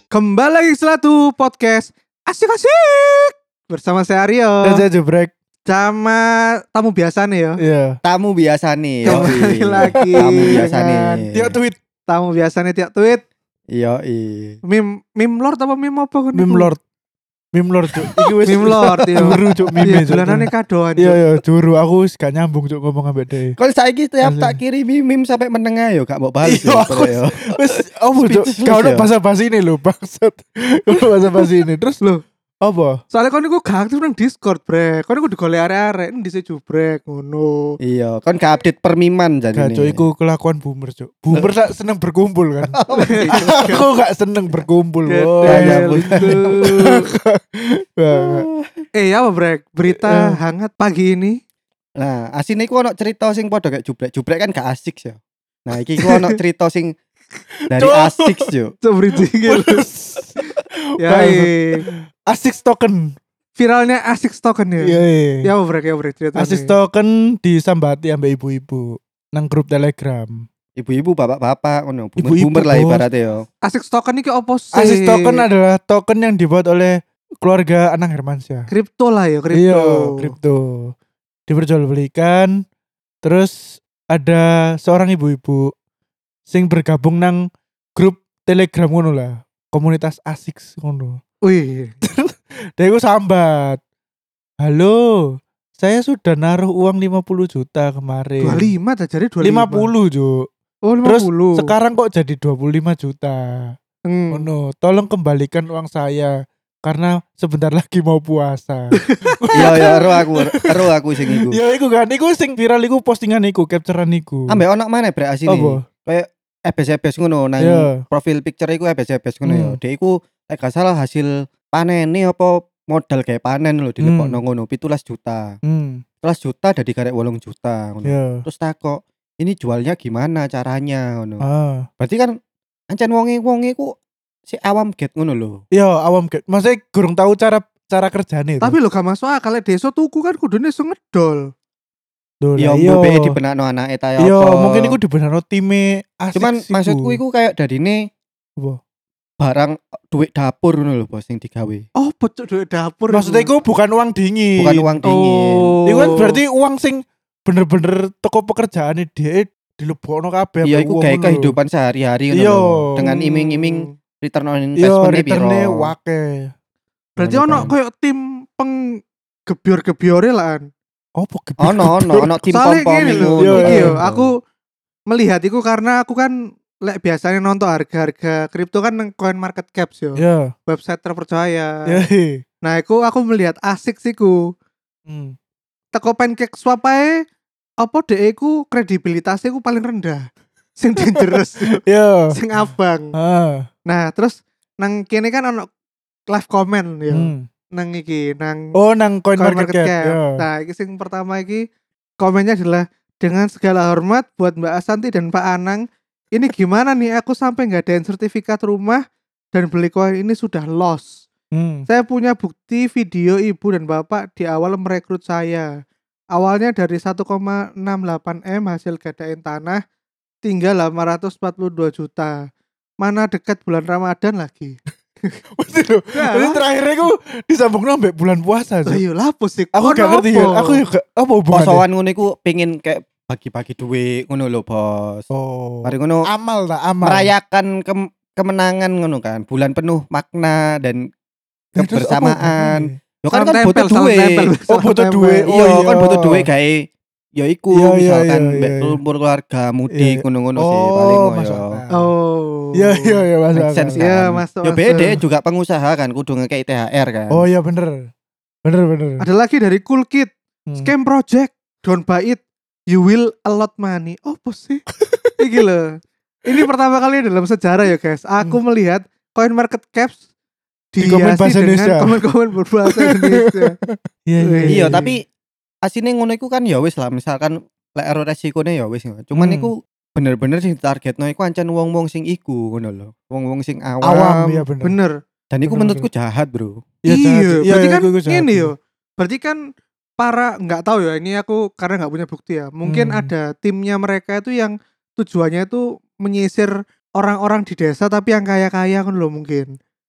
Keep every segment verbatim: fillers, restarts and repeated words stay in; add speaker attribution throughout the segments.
Speaker 1: Kembali lagi Selatu Podcast Asik-asik bersama saya Aryo
Speaker 2: Dan saya Jubrek
Speaker 1: sama tamu biasa nih ya.
Speaker 2: Iya.
Speaker 3: Tamu biasa nih.
Speaker 1: Kembali lagi
Speaker 3: Tamu biasa nih.
Speaker 1: dengan
Speaker 2: Tiap tweet
Speaker 1: tamu biasa nih tiap tweet.
Speaker 3: Iya,
Speaker 1: Mim mim lord apa mim apa kan?
Speaker 2: Meme Lord. Meme Lord cuk. Iki wis
Speaker 1: Meme Lord ya.
Speaker 2: Juru cuk meme
Speaker 1: Iya,
Speaker 2: cuk.
Speaker 1: bulanane kadoan.
Speaker 2: Iya iya juru aku wis gak nyambung cuk ngomong ambek dhewe.
Speaker 3: Kalau saiki tiap
Speaker 2: Asli.
Speaker 3: tak kirimi meme sampai menengah yo gak mau balas
Speaker 2: Iya,
Speaker 3: yo.
Speaker 2: aku
Speaker 3: yo.
Speaker 2: Wis opo cuk?
Speaker 3: Speechless
Speaker 2: Gak ono
Speaker 3: ya.
Speaker 2: basa-basi ini lho bangsat. Ono basa-basi ini. Terus
Speaker 1: Loh,
Speaker 2: apa?
Speaker 1: soalnya kon niku gak aktif nang Discord, Brek. Kon niku digolek arek-arek endi sih Jubrek ngono.
Speaker 3: Iya, kan gak update permiman jadi.
Speaker 2: Gak cuk iku kelakuan boomer cuk. Boomer sak seneng berkumpul kan. Aku gak seneng berkumpul. Oh,
Speaker 3: ya
Speaker 1: Gedel
Speaker 3: ampun.
Speaker 1: itu.
Speaker 2: Banget.
Speaker 1: Eh ya apa Brek? Berita hangat pagi ini.
Speaker 3: Nah, asine iku ono cerita sing padha kayak Jubrek. Jubrek kan gak asik yo. Nah, iki ku ono cerita sing dari
Speaker 2: Cuk.
Speaker 3: asik yo.
Speaker 1: Coba bridging Ya, eh.
Speaker 2: Asik token.
Speaker 1: viralnya asik token ya.
Speaker 2: Iya. iya.
Speaker 1: Ya apa Brek, ya Brek ceritanya.
Speaker 2: Asis token disambati ambek ibu-ibu nang grup Telegram.
Speaker 3: Ibu-ibu, bapak-bapak ngono.
Speaker 2: Ibu-ibu,
Speaker 3: Boomer lah
Speaker 2: bos.
Speaker 3: ibaratnya yo.
Speaker 1: Asik token iki apa sih?
Speaker 2: Asis token adalah token yang dibuat oleh keluarga Anang Hermansyah.
Speaker 1: kripto lah ya, kripto.
Speaker 2: Iya, kripto. Diperjualbelikan. Terus ada seorang ibu-ibu sing bergabung nang grup Telegram ngono lah. Komunitas asik ngono.
Speaker 1: Wih,
Speaker 2: Dia iku sambat. Halo, saya sudah naruh uang lima puluh juta kemarin.
Speaker 1: dua puluh lima tak jadi dua puluh lima.
Speaker 2: lima puluh, Juk.
Speaker 1: Oh, lima
Speaker 2: Terus
Speaker 1: puluh.
Speaker 2: sekarang kok jadi dua puluh lima juta.
Speaker 1: Hmm.
Speaker 2: Oh no, tolong kembalikan uang saya karena sebentar lagi mau puasa.
Speaker 3: Iya, iya, ero aku, ero aku sing iku.
Speaker 2: Ya iku kan, iku sing viral iku postingan iku, capturean iku.
Speaker 3: Ambek ono mana brek asine.
Speaker 2: Apa?
Speaker 3: Kayak ebes-ebes ngono nang
Speaker 2: Iya.
Speaker 3: profil picture iku ebes-ebes ngono ya.
Speaker 2: Hmm.
Speaker 3: Dia iku lek gak salah hasil panene apa modal kayak panen lho dilepokno
Speaker 2: Hmm.
Speaker 3: ngono tujuh belas juta.
Speaker 2: Hmm,
Speaker 3: tujuh belas juta dadi karek delapan juta ngono.
Speaker 2: ya.
Speaker 3: Terus takok, "Ini jualnya gimana caranya?" ngono.
Speaker 2: Ah.
Speaker 3: Berarti kan ancen wonge-wonge ku si awam get ngono lho.
Speaker 2: Iya, awam kan. Maksudnya kurang tahu cara cara kerjane itu.
Speaker 1: Tapi lo gak masuk akal lek desa tuku kan kudune iso ngedol.
Speaker 2: Loh,
Speaker 3: Ya
Speaker 2: lah, iya.
Speaker 3: mbok dibenakno anake ta ya
Speaker 2: Iya,
Speaker 3: apa.
Speaker 2: mungkin iku dibenarno time asik.
Speaker 3: Cuman maksudku iku kayak dadine
Speaker 2: Apa?
Speaker 3: barang duit dapur ngono lho bos sing digawe.
Speaker 1: Oh, bocok duit dapur.
Speaker 2: Maksudnya iku bukan uang dingin.
Speaker 3: Bukan uang dingin.
Speaker 1: Oh.
Speaker 2: Iku kan berarti uang sing bener-bener toko pekerjaane dia dilebokno kabeh.
Speaker 3: Iya,
Speaker 2: ambek
Speaker 3: iku
Speaker 2: uang
Speaker 3: kayak
Speaker 2: ngono lho.
Speaker 3: kehidupan sehari-hari ngono
Speaker 2: Iya.
Speaker 3: lho. Dengan iming-iming return on
Speaker 2: Iya,
Speaker 3: investment-nya piro.
Speaker 2: return-e wake.
Speaker 1: Berarti
Speaker 3: Ngono
Speaker 1: ono
Speaker 3: kan.
Speaker 1: koyo tim penggebior-gebiore lah.
Speaker 2: Apa gebyur?
Speaker 3: Ono ono ono tim
Speaker 1: Soalnya
Speaker 3: pom-pom
Speaker 1: gini lho,
Speaker 3: ngono.
Speaker 2: Iya,
Speaker 1: iki
Speaker 2: iya.
Speaker 1: yo, aku melihat iku karena aku kan lek biasanya nonton harga-harga kripto kan nang Coin Market Caps yo.
Speaker 2: Ya.
Speaker 1: Website terpercaya.
Speaker 2: Ya.
Speaker 1: Nah, iku aku melihat asik sih ku.
Speaker 2: Hmm.
Speaker 1: Teko pancake swap ae apa dhek iku kredibilitasnya iku paling rendah. Sing dangerous,
Speaker 2: Ya.
Speaker 1: sing abang.
Speaker 2: Ah.
Speaker 1: Nah, terus nang kene kan ono live comment ya.
Speaker 2: Hmm.
Speaker 1: Nang iki, nang
Speaker 2: Oh, nang coin
Speaker 1: Coin
Speaker 2: market,
Speaker 1: Market
Speaker 2: cap.
Speaker 1: Cap.
Speaker 2: Ya.
Speaker 1: Nah, iki sing pertama iki komennya adalah dengan segala hormat buat Mbak Asanti dan Pak Anang. Ini gimana nih aku sampai ngadain sertifikat rumah dan beli koin ini sudah loss.
Speaker 2: Hmm.
Speaker 1: Saya punya bukti video ibu dan bapak di awal merekrut saya. Awalnya dari satu koma enam delapan M hasil gadain tanah tinggal delapan ratus empat puluh dua juta. Mana dekat bulan Ramadan lagi.
Speaker 2: Mesti lho.
Speaker 1: Ya,
Speaker 2: Jadi
Speaker 1: lah.
Speaker 2: terakhirnya aku disambungno ambek bulan puasa.
Speaker 1: Lah
Speaker 2: Cuk.
Speaker 1: iya lapus sih.
Speaker 2: Aku gak ngerti ya. Aku juga apa hubungannya?
Speaker 3: Posoan ngono iku pengin kayak bagi-bagi duit ngono lho, Bos.
Speaker 2: Oh.
Speaker 3: Mari ngono
Speaker 2: Amal tak amal.
Speaker 3: merayakan kem- kemenangan ngono kan. Bulan penuh makna dan
Speaker 2: Nah, terus apa
Speaker 3: kebersamaan.
Speaker 2: hubungannya?
Speaker 3: Yo kan
Speaker 1: Salam
Speaker 3: kan
Speaker 1: tempel,
Speaker 3: butuh
Speaker 1: salam
Speaker 3: duit.
Speaker 1: tempel,
Speaker 2: Oh,
Speaker 1: salam
Speaker 2: butuh
Speaker 1: tempel.
Speaker 2: duit. Oh,
Speaker 3: Iya,
Speaker 2: iya.
Speaker 3: kan butuh duit gawe ya iku
Speaker 2: Iya, iya,
Speaker 3: misalkan
Speaker 2: iya,
Speaker 3: mbek
Speaker 2: iya.
Speaker 3: kumpul keluarga mudik
Speaker 2: Iya.
Speaker 3: ngono-ngono sih
Speaker 2: Oh,
Speaker 3: paling ngono
Speaker 2: masuk
Speaker 3: ya.
Speaker 2: akal.
Speaker 1: Oh.
Speaker 2: Iya iya iya masuk
Speaker 3: Make
Speaker 2: akal.
Speaker 3: sense
Speaker 1: Iya,
Speaker 3: kan.
Speaker 1: masuk,
Speaker 3: Yo
Speaker 1: masuk.
Speaker 3: beda juga pengusaha kan kudu ngekei T H R kan.
Speaker 2: Oh iya bener. Bener bener.
Speaker 1: Ada lagi dari Cool Kid.
Speaker 2: Hmm.
Speaker 1: Scam project. Don't buy it. You will a lot money. Oh, apa sih? Iki loh. Ini pertama kali dalam sejarah ya guys. Aku melihat Coin Market Caps
Speaker 2: Di komen
Speaker 1: dihiasi
Speaker 2: bahasa
Speaker 1: dengan
Speaker 2: Indonesia.
Speaker 1: komen-komen berbahasa Indonesia.
Speaker 2: Iya iya.
Speaker 3: Iya, tapi asine ngono iku kan ya wis lah misalkan lek ero resikone ya wis. Cuman
Speaker 2: Hmm.
Speaker 3: iku bener-bener sing targetno iku ancen wong-wong sing iku ngono lho. Wong-wong sing awam.
Speaker 2: awam iya bener.
Speaker 1: Bener.
Speaker 3: Dan iku
Speaker 2: Bener,
Speaker 3: menurutku jahat, Bro.
Speaker 2: Iya,
Speaker 1: Iya,
Speaker 2: jahat.
Speaker 1: berarti kan
Speaker 2: iku- iku jahat.
Speaker 1: ini yo. Berarti kan para nggak tahu ya, ini aku karena nggak punya bukti ya. Mungkin
Speaker 2: Hmm.
Speaker 1: ada timnya mereka itu yang tujuannya itu menyisir orang-orang di desa tapi yang kaya-kaya kan loh mungkin.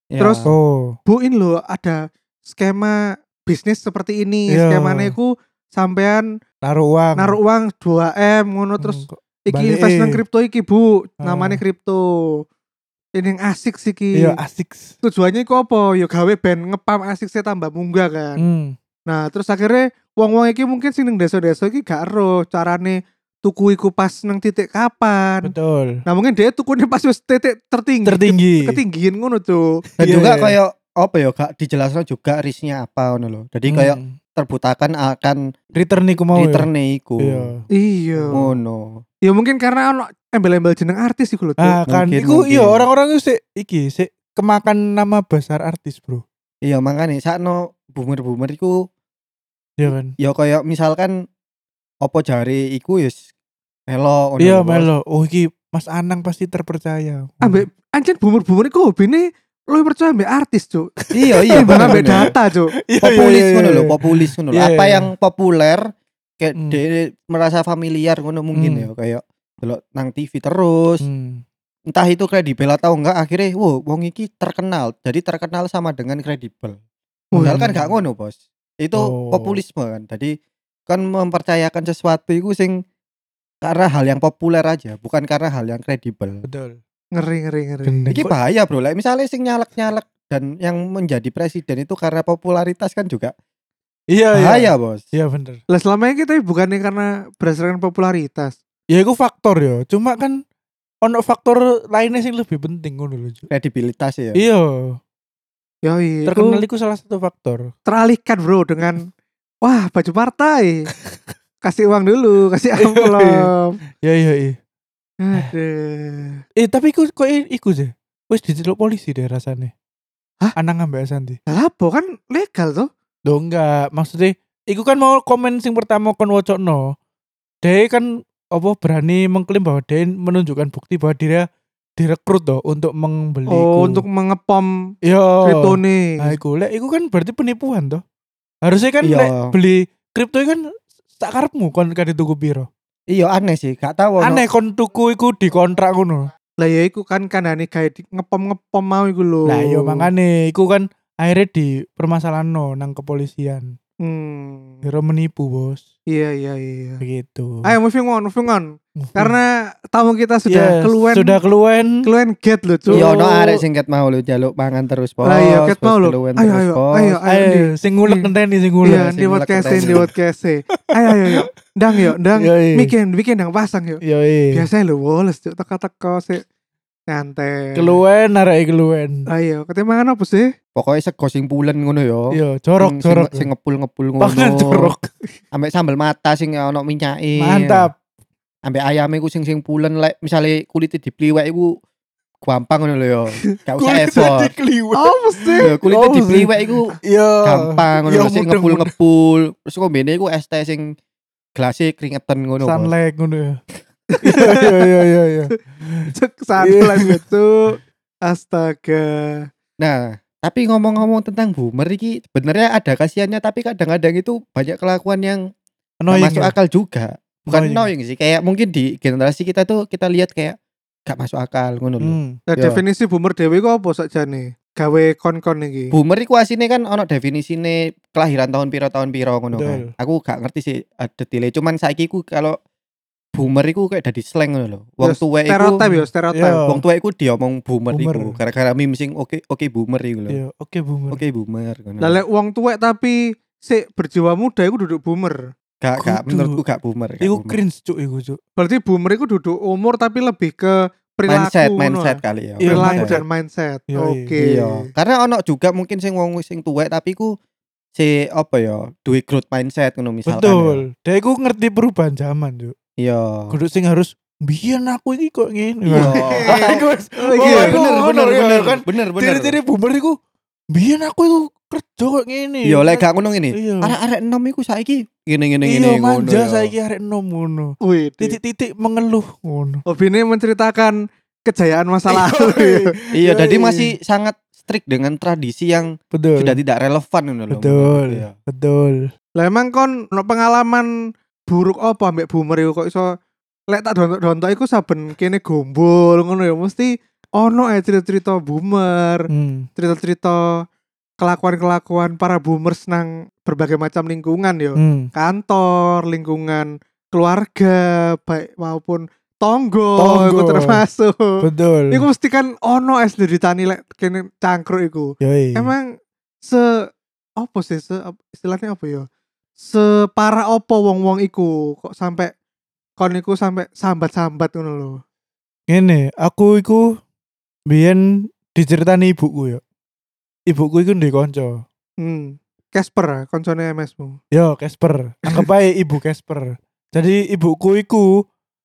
Speaker 3: Ya.
Speaker 1: Terus
Speaker 2: Oh.
Speaker 1: Bu ini loh ada skema bisnis seperti ini.
Speaker 2: Iya.
Speaker 1: Skemanya iku sampean
Speaker 2: Naruh uang.
Speaker 1: naruh uang dua M ngono
Speaker 2: Hmm,
Speaker 1: terus
Speaker 2: kok
Speaker 1: iki
Speaker 2: balik,
Speaker 1: invest nang
Speaker 2: eh.
Speaker 1: kripto iki Bu,
Speaker 2: Ah.
Speaker 1: namanya kripto. Ini yang asik sih ki.
Speaker 2: Iya asik.
Speaker 1: Tujuannya iku apa? Ya gawe ben ngepam asik saya tambah munggah kan.
Speaker 2: Hmm.
Speaker 1: Nah, terus akhirnya wong-wong iki mungkin sing ning desa-desa iki gak ero carane tuku iku pas nang titik kapan.
Speaker 2: Betul.
Speaker 1: Nah, mungkin dia tukune pas wis titik tertinggi.
Speaker 2: Tertinggi.
Speaker 1: Ketinggian ngono tuh.
Speaker 3: Dan
Speaker 2: Iya,
Speaker 3: juga
Speaker 2: iya.
Speaker 3: kayak apa ya gak dijelaskan juga risknya apa ngono lho. Jadi kayak
Speaker 2: Hmm.
Speaker 3: terbutakan akan
Speaker 2: return iku mau. ya?
Speaker 3: return iku.
Speaker 2: Iya.
Speaker 1: Iya.
Speaker 3: Ngono.
Speaker 1: Ya mungkin karena ono embel-embel jeneng artis iku lho, Cuk.
Speaker 2: Ah kan
Speaker 3: Mungkin,
Speaker 2: iku iya
Speaker 3: mungkin.
Speaker 2: orang-orang itu sik iki sik kemakan nama besar artis, Bro.
Speaker 3: Iya makanya sakno boomer-boomer iku
Speaker 2: Iya kan?
Speaker 3: ya kayak misalkan apa jare iku wis melo ngono
Speaker 2: Iya
Speaker 3: lho, Bos.
Speaker 2: melo. Oh iki Mas Anang pasti terpercaya.
Speaker 1: Ambek anjen boomer-boomer iku hobine lu percaya ambek artis, Cuk.
Speaker 3: Iya iya
Speaker 1: Timbang
Speaker 3: bener,
Speaker 1: ambek
Speaker 3: bener.
Speaker 1: data, Cuk.
Speaker 2: Iya,
Speaker 3: Populis
Speaker 2: iya,
Speaker 3: ngono
Speaker 2: iya,
Speaker 3: lho,
Speaker 2: iya.
Speaker 3: populis ngono lho.
Speaker 2: Iya,
Speaker 3: Apa
Speaker 2: iya.
Speaker 3: yang populer kayak
Speaker 2: Hmm.
Speaker 3: dia merasa familiar ngono mungkin
Speaker 2: Hmm.
Speaker 3: ya kayak delok nang T V terus.
Speaker 2: Hmm.
Speaker 3: Entah itu kredibel atau enggak akhirnya wow wong iki terkenal. Jadi terkenal sama dengan kredibel. Padahal kan gak ngono, Bos. Itu
Speaker 2: Oh.
Speaker 3: populisme kan. Jadi kan mempercayakan sesuatu itu sing karena hal yang populer aja, bukan karena hal yang kredibel.
Speaker 2: Betul.
Speaker 1: Ngeri ngeri ngeri.
Speaker 2: Gendeng.
Speaker 3: Iki bahaya, Bro. Like, misalnya sing nyalek-nyalek dan yang menjadi presiden itu karena popularitas kan juga
Speaker 2: Iya iya.
Speaker 3: bahaya, Bos.
Speaker 2: Iya bener.
Speaker 1: Lah selama ini kita bukannya karena berdasarkan popularitas.
Speaker 2: Ya itu faktor ya. Cuma kan ono faktor lainnya sing lebih penting ngono lho. Cuk.
Speaker 3: Kredibilitas ya.
Speaker 2: Iya.
Speaker 1: Yoi,
Speaker 2: Terkenal
Speaker 1: iku
Speaker 2: itu salah satu faktor.
Speaker 1: teralihkan bro dengan wah baju partai. Kasih uang dulu, kasih amplop.
Speaker 2: Ya iya iya.
Speaker 1: Aduh.
Speaker 2: Eh tapi iku kok i- iku sih. Wis diceluk polisi deh rasanya.
Speaker 1: Hah?
Speaker 2: Anang ambek Asanti.
Speaker 1: Lah apa kan legal tuh?
Speaker 2: Loh enggak, maksudnya iku kan mau komen sing pertama kon wocokno. Dia kan apa berani mengklaim bahwa dia menunjukkan bukti bahwa dia direkrut toh untuk membeli
Speaker 1: Oh,
Speaker 2: iku.
Speaker 1: untuk mengepom
Speaker 2: Yo.
Speaker 1: kripto nih.
Speaker 2: Nah, iku lek iku kan berarti penipuan toh. Harusnya kan
Speaker 3: Iya.
Speaker 2: lek beli kripto kan sak karepmu kon kan tuku piro.
Speaker 3: Iya aneh sih, gak tahu.
Speaker 2: Aneh kon tuku iku dikontrak ngono.
Speaker 1: Lah ya iku kan kandhane gawe di- ngepom-ngepom mau iku lho.
Speaker 2: Nah, iya mangane iku kan akhirnya di permasalahan nang kepolisian.
Speaker 1: Hmm.
Speaker 2: Kira menipu, Bos.
Speaker 1: Iya iya iya.
Speaker 2: Begitu.
Speaker 1: Ayo moving on, moving on.
Speaker 2: Moving.
Speaker 1: Karena tamu kita sudah
Speaker 2: Yes,
Speaker 1: keluar
Speaker 2: sudah keluwen.
Speaker 1: keluar get lho, Cuk.
Speaker 3: Iya ono arek sing ket mau lu jaluk mangan terus, Bos.
Speaker 1: Lah iya ket
Speaker 3: Bos,
Speaker 1: mau lho.
Speaker 3: keluwen
Speaker 1: Ayo
Speaker 3: terus,
Speaker 1: ayo
Speaker 3: Bos.
Speaker 1: ayo ayo.
Speaker 2: Ayo,
Speaker 1: Di-
Speaker 2: sing ngulek
Speaker 1: Iya.
Speaker 2: ngenteni sing ngulek.
Speaker 1: Iya,
Speaker 3: sing
Speaker 1: di
Speaker 3: ngulek
Speaker 1: podcast
Speaker 3: keren.
Speaker 1: di podcast. Ayo ayo ayo. Ndang yo, ndang.
Speaker 2: Iya, iya.
Speaker 1: Bikin bikin ndang pasang yo.
Speaker 2: Yo iya.
Speaker 1: Biasanya lho woles Cuk teka-teka sik nyantai.
Speaker 2: Keluwen arek keluwen.
Speaker 1: Ayo, ketimbangan apa sih?
Speaker 3: Pokoknya sego sing pulen ngono yo.
Speaker 2: Yo, jorok
Speaker 3: Sing-
Speaker 2: jorok.
Speaker 3: Sing, sing ngepul-ngepul ngono.
Speaker 2: Pangan jorok.
Speaker 3: Ambek sambel mata sing ono minyake.
Speaker 2: Mantap.
Speaker 3: Ambek ayame ku sing sing pulen lek misale kulite dipliwek iku gampang ngono lho yo. Gak usah effort.
Speaker 2: Kliwek.
Speaker 1: Apa sih?
Speaker 3: Lho, kulite
Speaker 2: Oh, sih.
Speaker 3: dipliwek iku
Speaker 2: Yo.
Speaker 3: gampang ngono
Speaker 2: Yo,
Speaker 3: lho, sing
Speaker 2: mudeng,
Speaker 3: ngepul-ngepul. Terus kombene iku es teh sing gelasnya keringetan ngono, Bos.
Speaker 2: Sunlight ngono ya. Iya iya iya iya.
Speaker 1: Cuk santai gitu. Astaga.
Speaker 3: Nah, tapi ngomong-ngomong tentang boomer iki sebenarnya ada kasihannya tapi kadang-kadang itu banyak kelakuan yang gak
Speaker 2: Annoying.
Speaker 3: masuk
Speaker 2: ya?
Speaker 3: akal juga. Bukan
Speaker 2: Annoying.
Speaker 3: annoying sih, kayak mungkin di generasi kita tuh kita lihat kayak gak masuk akal ngono lho.
Speaker 2: Hmm.
Speaker 1: Nah,
Speaker 3: Yo.
Speaker 1: definisi boomer dhewe ku apa sakjane? Gawe kon-kon iki.
Speaker 3: Boomer iku asine kan ono definisine kelahiran tahun piro tahun piro ngono kan.
Speaker 2: Betul.
Speaker 3: Aku gak ngerti sih ada detailnya, cuman saiki ku kalau boomer iku kayak dadi slang ngono lho. Wong
Speaker 1: Yo,
Speaker 3: tuwek iku
Speaker 1: stereotip yo, stereotip.
Speaker 2: Yo.
Speaker 3: wong tuwek iku diomong boomer,
Speaker 2: Boomer.
Speaker 3: iku gara-gara meme sing oke oke boomer iku lho.
Speaker 2: Iya, oke boomer.
Speaker 3: Oke boomer ngono.
Speaker 1: Lah lek wong tuwek tapi sik berjiwa muda iku duduk boomer.
Speaker 3: Gak gak
Speaker 2: Kudu.
Speaker 3: menurutku gak boomer. gak
Speaker 2: Iku
Speaker 3: boomer.
Speaker 2: cringe cuk iku cuk.
Speaker 1: Berarti boomer iku duduk umur tapi lebih ke perilaku
Speaker 3: mindset
Speaker 1: ngono
Speaker 3: mindset
Speaker 1: lah.
Speaker 3: kali ya.
Speaker 2: Iya,
Speaker 1: Perilaku
Speaker 2: mindset.
Speaker 1: dan mindset.
Speaker 2: Iya,
Speaker 1: Oke.
Speaker 3: Iya. Karena ono juga mungkin sing wong sing tuwek tapi ku si apa ya, duwe growth mindset ngono misalkan.
Speaker 2: Betul. Dia iku ngerti perubahan zaman cuk.
Speaker 3: Ya. Iya.
Speaker 2: Kudu sing harus biyen aku iki kok ngene.
Speaker 3: Iya.
Speaker 2: Lah, iku wis-
Speaker 1: Oh,
Speaker 2: oh,
Speaker 1: iya,
Speaker 2: iku
Speaker 3: bener
Speaker 2: ngono,
Speaker 3: bener
Speaker 2: iya,
Speaker 3: bener
Speaker 2: kan.
Speaker 3: bener bener.
Speaker 2: Ciri-ciri boomer iku biyen aku iku kerja kok ngene.
Speaker 3: Iya, lek gak ngono ngene.
Speaker 2: Iya.
Speaker 3: Arek-arek enom iku saiki ngene-ngene
Speaker 2: Iya,
Speaker 3: ngene ngono.
Speaker 2: manja
Speaker 3: ya.
Speaker 2: saiki arek enom ngono.
Speaker 1: Wih,
Speaker 2: Titik-titik mengeluh ngono.
Speaker 1: Hobine menceritakan kejayaan masa lalu.
Speaker 3: Iya,
Speaker 2: Iya,
Speaker 3: jadi
Speaker 2: iya.
Speaker 3: masih sangat strict dengan tradisi yang
Speaker 2: Betul.
Speaker 3: sudah tidak relevan ngono lho.
Speaker 2: Betul.
Speaker 3: Iya.
Speaker 2: Betul.
Speaker 1: Lah emang kon ono pengalaman buruk apa ambek boomer iku kok iso lek tak dontok-dontok iku saben kene gombol ngono ya mesti ono eh cerita-cerita boomer,
Speaker 2: Hmm.
Speaker 1: cerita-cerita kelakuan-kelakuan para boomers nang berbagai macam lingkungan yo.
Speaker 2: Hmm.
Speaker 1: Kantor, lingkungan keluarga, baik maupun tonggo,
Speaker 2: Tonggo.
Speaker 1: iku termasuk.
Speaker 2: Betul.
Speaker 1: Iku mesti kan ono es diritani lek kene cangkruk iku.
Speaker 2: Yoi.
Speaker 1: Emang se apa sih se istilahnya apa ya? Separah opo wong-wong iku kok sampai kon iku sampai sambat-sambat ngono lho.
Speaker 2: Ngene, aku iku biyen diceritani ibuku ya. Ibuku iku ndek kanca.
Speaker 1: Hmm. Casper koncone M S-mu.
Speaker 2: Yo, Casper. Anggap ae ibu Casper. Jadi ibuku iku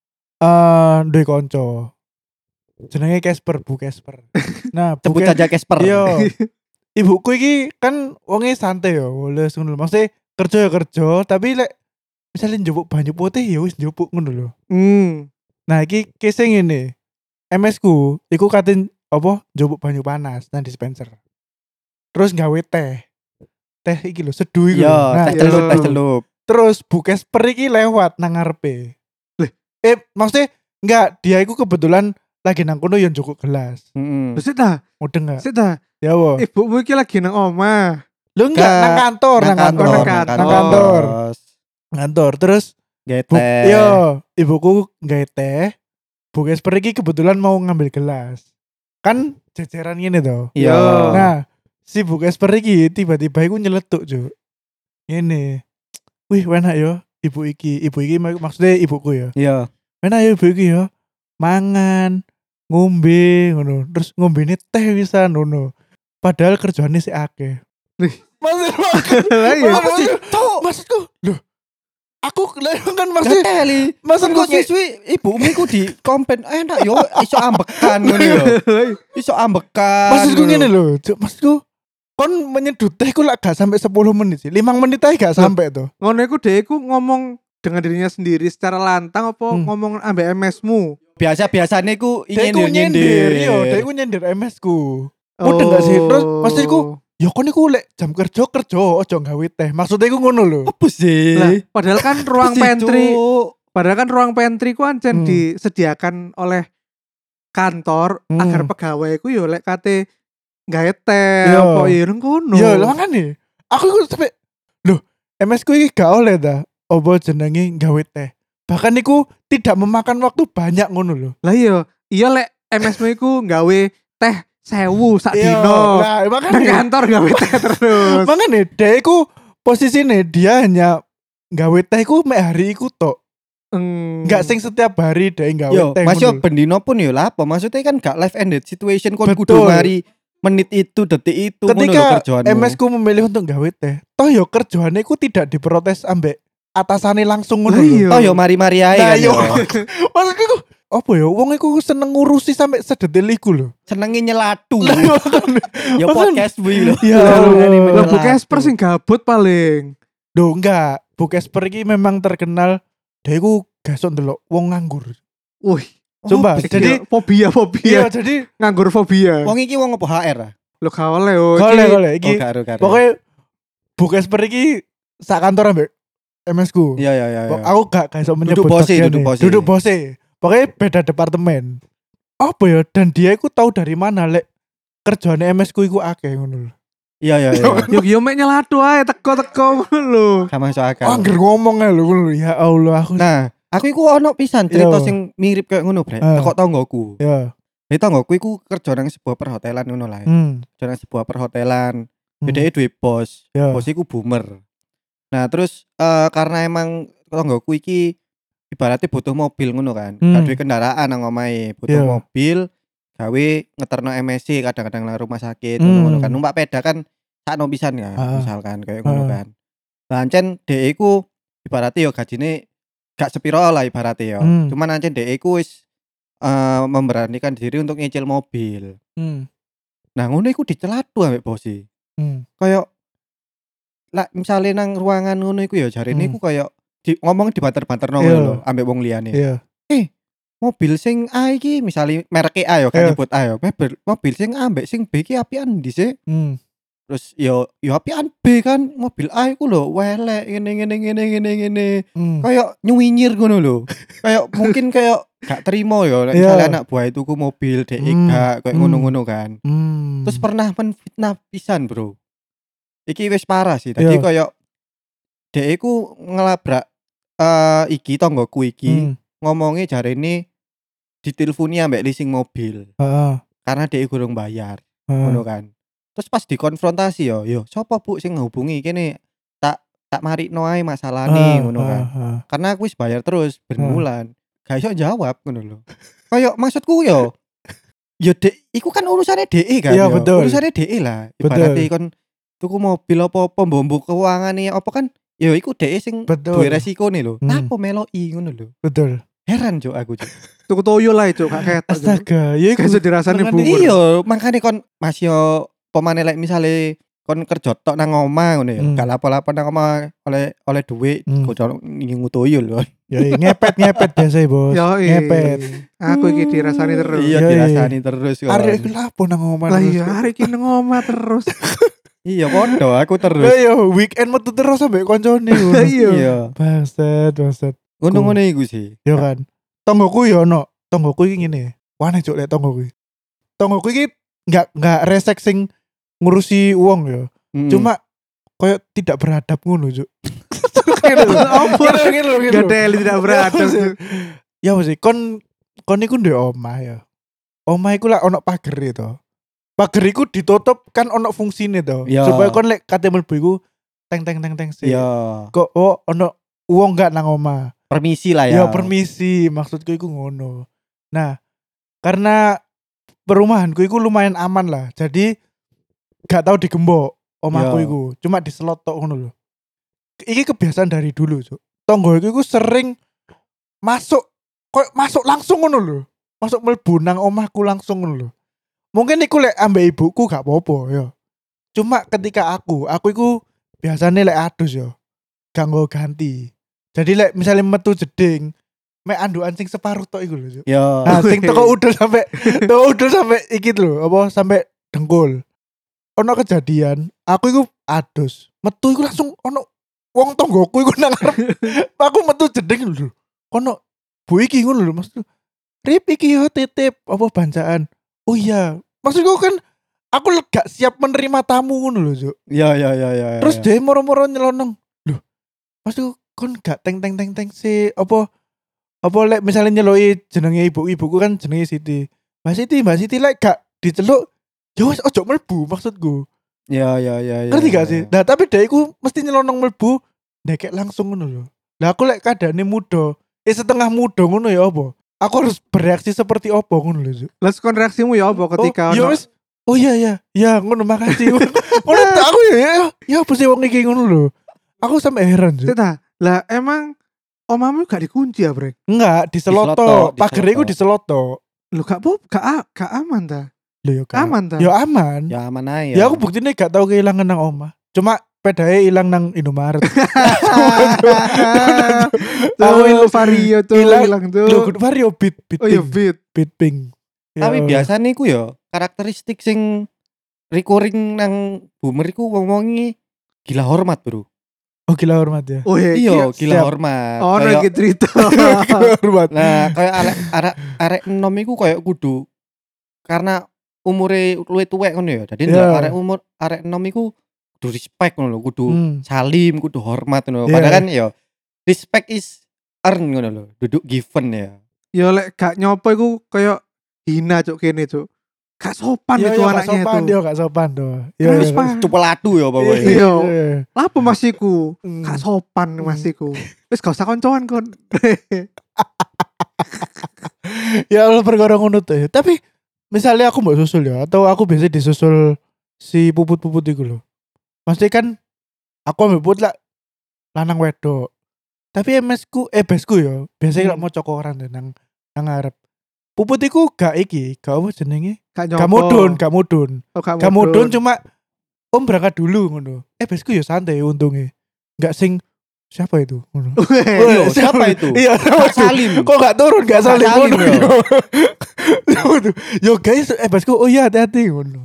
Speaker 2: eh ndek kanca. Jenenge Casper, Bu Casper. Nah, Bu
Speaker 3: Sebut
Speaker 2: Cas-
Speaker 3: saja Casper.
Speaker 2: Yo. Ibuku iki kan wonge santai ya, wales ngono lho. Maksudnya kerja ya kerja, tapi lek misalnya njupuk banyu putih ya wis njupuk ngono lho.
Speaker 1: Hmm.
Speaker 2: Nah, iki case ngene. M S ku iku katin apa njupuk banyu panas nang dispenser. Terus gawe teh. Teh iki lho, seduh iku.
Speaker 3: Yo,
Speaker 2: lho. Nah,
Speaker 3: teh celup,
Speaker 1: yo.
Speaker 3: teh celup.
Speaker 2: terus Bu Casper iki lewat nang ngarepe.
Speaker 1: Leh.
Speaker 2: Eh, maksudnya enggak, dia iku kebetulan lagi nang kono yo njupuk gelas.
Speaker 3: Heeh.
Speaker 1: Wis ta,
Speaker 2: Mudeng enggak?
Speaker 1: sik ta.
Speaker 2: Ya wo.
Speaker 1: Ibumu iki lagi nang omah.
Speaker 2: Lu enggak
Speaker 3: Enggak.
Speaker 2: nang kantor, nang kantor,
Speaker 1: nang
Speaker 2: nang
Speaker 1: kantor.
Speaker 2: kantor. Kantor. Terus
Speaker 3: Gawe
Speaker 2: Bu,
Speaker 3: teh.
Speaker 2: yo, ibuku gawe teh. Bu Casper iki kebetulan mau ngambil gelas. Kan jejeran gini tuh.
Speaker 3: Iya.
Speaker 2: Nah, si Bu Casper iki tiba-tiba iku nyeletuk, Cuk. Ngene. Wih, enak yo ibu iki. Ibu iki mak- maksudnya ibuku ya.
Speaker 3: Iya.
Speaker 2: Enak yo ibu iki yo. Mangan, ngombe ngono. Terus ngombene teh pisan ngono. Padahal kerjaane sik akeh.
Speaker 1: Lih.
Speaker 2: Maksud
Speaker 1: Lah iya.
Speaker 2: Apa sih? Cuk, maksudku. Loh. Aku lah kan maksudnya
Speaker 3: Gateli.
Speaker 2: maksudku
Speaker 3: Maksudku siswi ibumu iku di kompen enak yo iso ambekan ngono yo. Iso ambekan.
Speaker 2: Maksudku
Speaker 3: ngono.
Speaker 2: ngene lho, Cuk, maksudku kon menyedut teh ku lak gak sampai sepuluh menit sih. lima menit aja gak sampai tuh.
Speaker 1: Ngono iku dhek iku ngomong dengan dirinya sendiri secara lantang apa
Speaker 2: Hmm.
Speaker 1: ngomong ambek M S-mu?
Speaker 3: Biasa-biasane ku
Speaker 2: Dek ku nyindir, yo, dek ku nyindir M S ku. Mudeng gak sih? Terus maksudku, ya kon iku lek jam kerja kerja ojo gawe teh. Maksudnya iku ngono lho.
Speaker 3: Apa sih?
Speaker 1: Lah, padahal kan ruang
Speaker 3: Apa sih,
Speaker 1: pantry,
Speaker 3: Cuk?
Speaker 1: padahal kan ruang pantry ku ancen
Speaker 2: Hmm.
Speaker 1: disediakan oleh kantor
Speaker 2: Hmm.
Speaker 1: agar pegawai ku yo lek kate gawe teh
Speaker 2: Iya.
Speaker 1: apa ya nang kono.
Speaker 2: Ya lah makane. Aku iku sampe loh, M S ku iki gak oleh ta. Apa jenenge gawe teh. Bahkan iku tidak memakan waktu banyak ngono lho.
Speaker 1: Lah iya, iya lek M S-mu iku gawe teh sewu sak
Speaker 2: Iya,
Speaker 1: dino.
Speaker 2: Nah,
Speaker 1: Nang
Speaker 2: makane.
Speaker 1: kantor gawe teh terus.
Speaker 2: Makane dhek iku posisine dia hanya gawe teh iku mek hari iku tok.
Speaker 1: Hmm.
Speaker 2: Enggak sing setiap hari dhek gawe
Speaker 3: Yo,
Speaker 2: teh.
Speaker 3: Mas yo
Speaker 2: ngono lho.
Speaker 3: bendino pun yo lah apa? Maksudnya kan gak life ended situation kon
Speaker 2: Betul.
Speaker 3: kudu mari menit itu detik itu ngono lho
Speaker 2: Ketika
Speaker 3: kerjaanmu.
Speaker 2: M S ku memilih untuk gawe teh, toh yo kerjaane ku tidak diprotes ambek atasane langsung ngono
Speaker 1: Lah
Speaker 2: lho.
Speaker 1: iya.
Speaker 3: Oh yo mari-mari ae
Speaker 2: Nah,
Speaker 3: kan
Speaker 2: yo.
Speaker 3: yo.
Speaker 2: Maksudku iku apa ya wong iku seneng ngurusi sampai sedetil iku lho.
Speaker 3: Senenge nyelatu.
Speaker 2: Lah, makane.
Speaker 3: Yo
Speaker 2: Maksud-
Speaker 3: podcast wi lho.
Speaker 2: Ya
Speaker 1: Lah,
Speaker 2: Allah.
Speaker 1: Lah Bu Casper sing gabut paling.
Speaker 2: Duh enggak, Bu Casper iki memang terkenal dia iku gasok ndelok wong nganggur.
Speaker 1: Wih,
Speaker 2: Coba,
Speaker 1: iki
Speaker 2: jadi-
Speaker 1: ya, fobia fobia
Speaker 2: Iya, jadi
Speaker 1: nganggur fobia.
Speaker 3: Wong iki wong apa H R ah?
Speaker 1: Lo gak oleh oh.
Speaker 2: golek
Speaker 1: iki-
Speaker 2: golek
Speaker 3: Oh
Speaker 2: iki.
Speaker 3: karo karo.
Speaker 2: Pokoknya Bu Casper iki sak kantor ambek M S ku.
Speaker 3: Iya iya iya.
Speaker 2: Pok-
Speaker 3: iya.
Speaker 2: Aku gak gak iso menyebut
Speaker 3: bose,
Speaker 2: bagiannya.
Speaker 3: duduk bose.
Speaker 2: Duduk bose. Pokoknya beda departemen. Apa ya? Dan dia iku tahu dari mana lek kerjaane M S ku iku akeh ngono lho.
Speaker 3: Iya iya iya.
Speaker 1: Yo yo mek nyelatu ae teko-teko ngono lho.
Speaker 3: Sama masuk akal.
Speaker 2: Angger ngomong ae lho ngono lho. Ya Allah aku.
Speaker 3: Nah, aku iku ono pisan cerita
Speaker 2: Iya.
Speaker 3: sing mirip kayak ngono, Bre.
Speaker 2: Ah.
Speaker 3: Kok tonggoku.
Speaker 2: Ya.
Speaker 3: Jadi tonggoku iku kerja nang sebuah perhotelan ngono lah.
Speaker 2: Hmm.
Speaker 3: Kerja nang sebuah perhotelan.
Speaker 2: Hmm.
Speaker 3: Bedanya duwe bos.
Speaker 2: Ya.
Speaker 3: Bos iku boomer. Nah, terus eh, karena emang tonggoku iki ibaratnya butuh mobil ngono kan.
Speaker 2: Hmm.
Speaker 3: Gak duwe kendaraan nang omahe, butuh
Speaker 2: Iya.
Speaker 3: mobil gawe ngeterno M S C kadang-kadang nang rumah sakit
Speaker 2: Hmm.
Speaker 3: ngono-ngono kan. Numpak peda kan sakno pisan kan,
Speaker 2: Ah.
Speaker 3: misalkan kayak ngono
Speaker 2: Ah.
Speaker 3: kan. Lancen dhek iku ibaratnya yo gajine gak sepiro lah ibaratnya yo.
Speaker 2: Hmm.
Speaker 3: Cuman ancen dhek iku wis eh, memberanikan diri untuk nyicil mobil.
Speaker 2: Hmm.
Speaker 3: Nah, ngono iku dicelatu ambek bosi.
Speaker 2: Hmm.
Speaker 3: Kayak lah misalnya nang ruangan ngono iku ya jarine
Speaker 2: Hmm.
Speaker 3: iku kayak di, ngomong dibanter-banterno
Speaker 2: Iya.
Speaker 3: ngono lho ambek wong liyane.
Speaker 2: Iya.
Speaker 3: Mobil sing A iki misalnya merek A yo kan
Speaker 2: Iya.
Speaker 3: nyebut A yo. Mobil, mobil sing A ambek sing B iki apian ndi sih?
Speaker 2: Hmm.
Speaker 3: Terus yo yo apian B kan, mobil A iku lho welek ngene ngene ngene ngene ngene.
Speaker 2: Hmm.
Speaker 3: Kayak nyuwinyir ngono lho. Kayak mungkin kayak gak terima ya nek
Speaker 2: Iya.
Speaker 3: misalnya anak buah tuku mobil dhek
Speaker 2: Hmm.
Speaker 3: gak kayak
Speaker 2: Hmm.
Speaker 3: ngono-ngono kan.
Speaker 2: Hmm.
Speaker 3: Terus pernah menfitnah pisan, Bro. Iki wis parah sih. Tadi
Speaker 2: Iya.
Speaker 3: kayak dhek iku ngelabrak eh iki tonggoku iki
Speaker 2: Hmm.
Speaker 3: ngomongnya jarene diteleponi ambek leasing mobil
Speaker 2: Heeh.
Speaker 3: karena dhek gurung bayar.
Speaker 2: Heeh.
Speaker 3: Ngono kan. Terus pas dikonfrontasi yo, yo sapa Bu sing ngehubungi kene tak tak marikno ae masalahne
Speaker 2: Heeh,
Speaker 3: ngono kan.
Speaker 2: heeh, heeh.
Speaker 3: Karena aku wis bayar terus ben
Speaker 2: Heeh.
Speaker 3: bulan. Gak iso jawab ngono lho. Kayak maksudku yo yo dek iku kan urusane D E kan
Speaker 2: Iya,
Speaker 3: yo.
Speaker 2: betul.
Speaker 3: Urusane D E lah.
Speaker 2: Betul.
Speaker 3: Ibaratnya kon tuku mobil apa-apa mbok keungane apa kan yo iku D E sing
Speaker 2: Betul.
Speaker 3: duwe resikone lho.
Speaker 2: Hmm.
Speaker 3: Apa meloki ngono lho.
Speaker 2: Betul.
Speaker 3: Heran cuk aku cuk.
Speaker 1: Tuku toyo lah itu gak ketok. Cuk.
Speaker 2: Astaga, ya
Speaker 1: Gak
Speaker 2: iku
Speaker 1: iso dirasani
Speaker 2: makanya-
Speaker 1: bubur.
Speaker 3: Iya, makanya kon Mas yo pemane lek misale kon kerja tok nang omah ngono ya.
Speaker 2: Hmm.
Speaker 3: Gak lapo-lapo nang omah oleh oleh duit
Speaker 2: Hmm.
Speaker 3: kocok ngingu toyo lho.
Speaker 2: Ya ngepet ngepet biasa ya, Bos.
Speaker 1: Yo
Speaker 2: Ngepet.
Speaker 1: Aku iki dirasani terus.
Speaker 3: Iya
Speaker 2: Iya,
Speaker 3: dirasani terus kok.
Speaker 2: Arek iku lapo nang omah.
Speaker 1: Lah
Speaker 2: terus.
Speaker 1: iya hari iki nang omah terus.
Speaker 3: Iya podo aku terus.
Speaker 2: Lah yo weekend metu terus sampe koncone ngono.
Speaker 1: Iya.
Speaker 3: Iya.
Speaker 2: Bangsat, bangsat.
Speaker 3: Ngono-ngono iku sih.
Speaker 2: Yo kan. Tonggoku yo ono. Tonggoku iki ngene. Wane cuk lek tonggoku. iki. Tonggoku iki enggak enggak resek sing ngurusi uang yo.
Speaker 3: Mm.
Speaker 2: Cuma koyo tidak beradab ngono cuk.
Speaker 1: Apa?
Speaker 2: Gitu, gitu.
Speaker 1: Gak ada yang tidak beradab. Cuk.
Speaker 2: Ya mesti kon kon iku ndek omah ya. Omah iku lah ono pager to. Pager iku ditutup kan ono fungsine to.
Speaker 3: Ya.
Speaker 2: Supaya kon lek kate mlebu iku teng teng teng teng sih.
Speaker 3: Iya.
Speaker 2: Kok oh ono uang gak nang omah.
Speaker 3: Permisi lah
Speaker 2: Ya
Speaker 3: ya.
Speaker 2: permisi, maksudku iku ngono. Nah, karena perumahanku iku lumayan aman lah. Jadi gak tahu digembok omahku
Speaker 3: Ya.
Speaker 2: iku. Cuma diselot tok ngono lho. Iki kebiasaan dari dulu, Cuk. Tonggo iku sering masuk kok masuk langsung ngono lho. Masuk mlebu nang omahku langsung ngono lho. Mungkin iku lek ambek ibuku gak apa-apa ya. Cuma ketika aku, aku iku biasanya lek adus ya. Gak nggo ganti. Jadi lek misalnya metu jeding, mek andukan sing separuh tok iku lho. Cuk.
Speaker 3: Ya.
Speaker 2: Nah, sing teko udel sampai teko udel sampai iki lho, apa sampai dengkul. Ono kejadian, aku iku adus. Metu iku langsung ono wong tonggoku iku nang arep. Aku metu jeding lho. Kono bu iki ngono lho, Mas. Rip iki yo titip apa bancaan. Oh iya, maksudku kan aku gak siap menerima tamu ngono lho, Cuk.
Speaker 3: Ya ya ya ya.
Speaker 2: Terus
Speaker 3: ya.
Speaker 2: dia moro-moro nyelonong. Loh, maksudku kon gak teng teng teng teng si apa apa lek misalnya nyeloi jenenge ibu-ibuku kan jenenge Siti. Mbak Siti, Mbak Siti lek gak diceluk ya wis ojo mlebu maksudku.
Speaker 3: Ya ya ya ya.
Speaker 2: Ngerti gak
Speaker 3: ya,
Speaker 2: sih?
Speaker 3: ya.
Speaker 2: Nah, tapi dia iku mesti nyelonong mlebu ndekek langsung ngono lho. Lah aku lek kadane muda, eh setengah muda ngono ya apa? Aku harus bereaksi seperti apa ngono lho. Cuk.
Speaker 1: Lah kon reaksimu ya apa ketika
Speaker 2: oh, ya
Speaker 1: ono-
Speaker 2: wis. Oh iya iya, ya ngono makasih. Ngono tak aku ya, ya, ya apa sih wong iki ngono lho. Aku sampe heran, Cuk.
Speaker 1: Tita, lah emang omamu gak dikunci ya, Brek?
Speaker 2: Enggak,
Speaker 3: Diselotok,
Speaker 2: diselotok. Pager iku
Speaker 3: diselotok.
Speaker 2: diselotok.
Speaker 1: Lu gak pop, gak, a- gak aman ta?
Speaker 2: Lho ya kan.
Speaker 1: Aman ta?
Speaker 2: Ya aman. Ya,
Speaker 3: Ya aman ae.
Speaker 2: ya aku buktinya gak tau kehilangan nang omah. Cuma pedae ilang nang Indomaret.
Speaker 1: Tuh,
Speaker 2: Aku
Speaker 1: Vario tuh
Speaker 2: hilang-
Speaker 1: hilang tuh.
Speaker 2: Lho kudu vario beat beat
Speaker 1: Oh iya,
Speaker 2: pink.
Speaker 1: beat.
Speaker 2: Beat pink. Ya
Speaker 3: Tapi
Speaker 2: Allah.
Speaker 3: biasanya iku ya karakteristik sing recurring nang boomer iku wong-wongi gila hormat, Bro.
Speaker 2: Oh gila hormat ya.
Speaker 1: Oh iya,
Speaker 3: Iya, gila
Speaker 2: siap.
Speaker 3: hormat.
Speaker 1: Oh,
Speaker 3: Kayak-
Speaker 1: iki cerita.
Speaker 2: Gila hormat.
Speaker 3: Nah, kayak arek arek arek enom iku kayak kudu karena umure luwih tuwek ngono ya. Jadi
Speaker 2: Iya.
Speaker 3: arek umur arek enom iku kudu respect ngono lho, kudu
Speaker 2: Hmm.
Speaker 3: salim, kudu hormat ngono.
Speaker 2: Iya.
Speaker 3: Padahal kan ya respect is earn ngono lho, duduk given ya.
Speaker 1: Ya lek gak nyopo iku koyo hina cuk kene cuk. Gak sopan
Speaker 2: Iya
Speaker 1: itu
Speaker 2: iya gak
Speaker 1: anaknya
Speaker 2: sopan,
Speaker 1: itu.
Speaker 2: dia gak sopan tuh. Iya.
Speaker 1: Terus
Speaker 2: iya.
Speaker 1: Pak.
Speaker 3: Cupeladu ya pokoknya.
Speaker 1: Iya.
Speaker 2: Iya.
Speaker 1: Lapo masiku?
Speaker 2: Hmm.
Speaker 1: Gak sopan
Speaker 2: Hmm.
Speaker 1: masiku. Wis gak usah koncoan kon.
Speaker 2: Ya Allah perkara ngono tuh ya. Tapi misalnya aku mbak susul ya, atau aku biasa disusul si puput-puput itu loh. Maksudnya kan aku ambil puput lah lanang wedok. Tapi M S ku, eh besku ya, biasanya
Speaker 1: Hmm.
Speaker 2: hmm. mau cokoran deh nang nang ngarep. Puput iku gak iki, gak apa jenenge?
Speaker 1: Gak
Speaker 2: Gak mudun, gak mudun.
Speaker 1: Oh, gak
Speaker 2: Gak mudun cuma om berangkat dulu ngono. Eh besku ya santai untungnya. Gak sing siapa itu ngono.
Speaker 3: Iya, siapa itu?
Speaker 2: Iya, siapa
Speaker 3: Kak
Speaker 2: itu?
Speaker 3: Salim.
Speaker 2: Kok gak turun gak
Speaker 3: Kak
Speaker 2: saling
Speaker 3: Salim,
Speaker 2: ngono.
Speaker 3: ya?
Speaker 2: Yo. Yo guys, eh basku oh iya hati-hati ngono.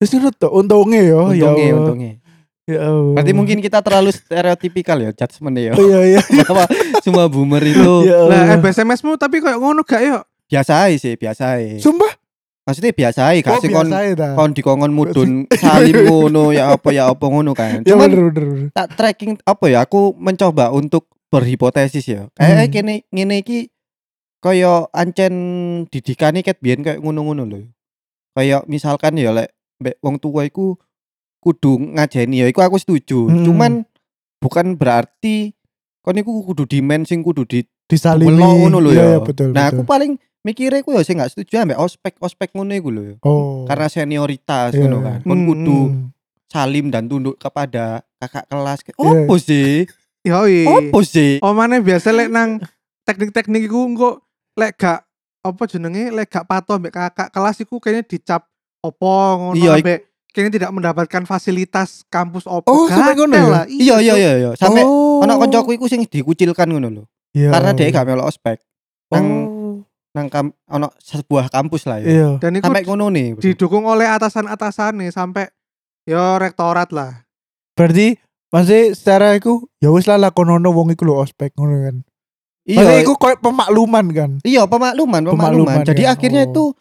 Speaker 2: Wis ngono to, untunge yo, ya.
Speaker 3: Untungnya,
Speaker 2: Allah.
Speaker 3: untungnya.
Speaker 2: Ya Allah.
Speaker 3: Berarti mungkin kita terlalu stereotipikal ya judgement ya.
Speaker 2: Oh, iya iya.
Speaker 3: Bahwa semua boomer itu
Speaker 2: Ya
Speaker 1: Lah
Speaker 2: Allah.
Speaker 1: S M S-mu tapi kayak ngono gak yo?
Speaker 3: biasa aja sih, biasa aja.
Speaker 2: Sumpah.
Speaker 3: Maksudnya biasa aja,
Speaker 2: Oh,
Speaker 3: gak sih kon
Speaker 2: biasa ya ta.
Speaker 3: kon dikongkon mudun salim ngono ya apa ya apa ngono kan.
Speaker 2: Ya
Speaker 3: Cuman
Speaker 2: bener bener. bener.
Speaker 3: tak tracking apa ya, aku mencoba untuk berhipotesis ya. Kayak
Speaker 2: Hmm.
Speaker 3: kene ngene iki kaya ancen didikane ket biyen kayak ngono-ngono lho. Kayak misalkan ya lek mbek wong tua iku kudu ngajeni ya iku aku setuju.
Speaker 2: Hmm.
Speaker 3: Cuman bukan berarti kon iku kudu dimen sing kudu di
Speaker 2: Disalimi.
Speaker 3: Dupelo ngono lho
Speaker 2: Iya,
Speaker 3: ya.
Speaker 2: iya, betul.
Speaker 3: Nah,
Speaker 2: betul.
Speaker 3: aku paling mikirnya aku ya sing gak setuju ambek ospek-ospek ngono iku lho.
Speaker 2: Oh.
Speaker 3: Karena senioritas
Speaker 2: Iya,
Speaker 3: ngono
Speaker 2: iya.
Speaker 3: kan. Kon
Speaker 1: Hmm.
Speaker 3: kudu
Speaker 2: Hmm.
Speaker 3: salim dan tunduk kepada kakak kelas.
Speaker 2: Iya.
Speaker 3: Opo sih?
Speaker 1: Yoi.
Speaker 3: Opo sih?
Speaker 1: Omane biasa lek nang teknik-teknik iku engko lek gak apa jenenge lek gak patuh ambek kakak kelas iku kayaknya dicap opo ngono
Speaker 3: Iya,
Speaker 1: ambek kayaknya tidak mendapatkan fasilitas kampus opo.
Speaker 2: Oh, sampai ngono
Speaker 1: Gatel
Speaker 2: ya?
Speaker 1: lah.
Speaker 3: Iya iya iya iya. Sampai
Speaker 2: oh.
Speaker 3: ana koncoku iku sing dikucilkan ngono lho.
Speaker 2: Iya.
Speaker 3: Karena dia gak melok ospek. Nang
Speaker 2: Oh.
Speaker 3: nang kam, ana sebuah kampus lah ya.
Speaker 2: Iya.
Speaker 1: Dan iku
Speaker 3: Sampai ngono nih. Bro.
Speaker 1: didukung oleh atasan-atasane sampai yo rektorat lah.
Speaker 2: Berarti masih secara iku ya wis lah lakonono wong iku lho ospek ngono kan. Maksudnya
Speaker 3: Iya,
Speaker 2: iku koyo pemakluman kan.
Speaker 3: iya pemakluman, pemakluman.
Speaker 2: Pemakluman
Speaker 3: Jadi
Speaker 2: kan?
Speaker 3: akhirnya
Speaker 2: Oh.
Speaker 3: itu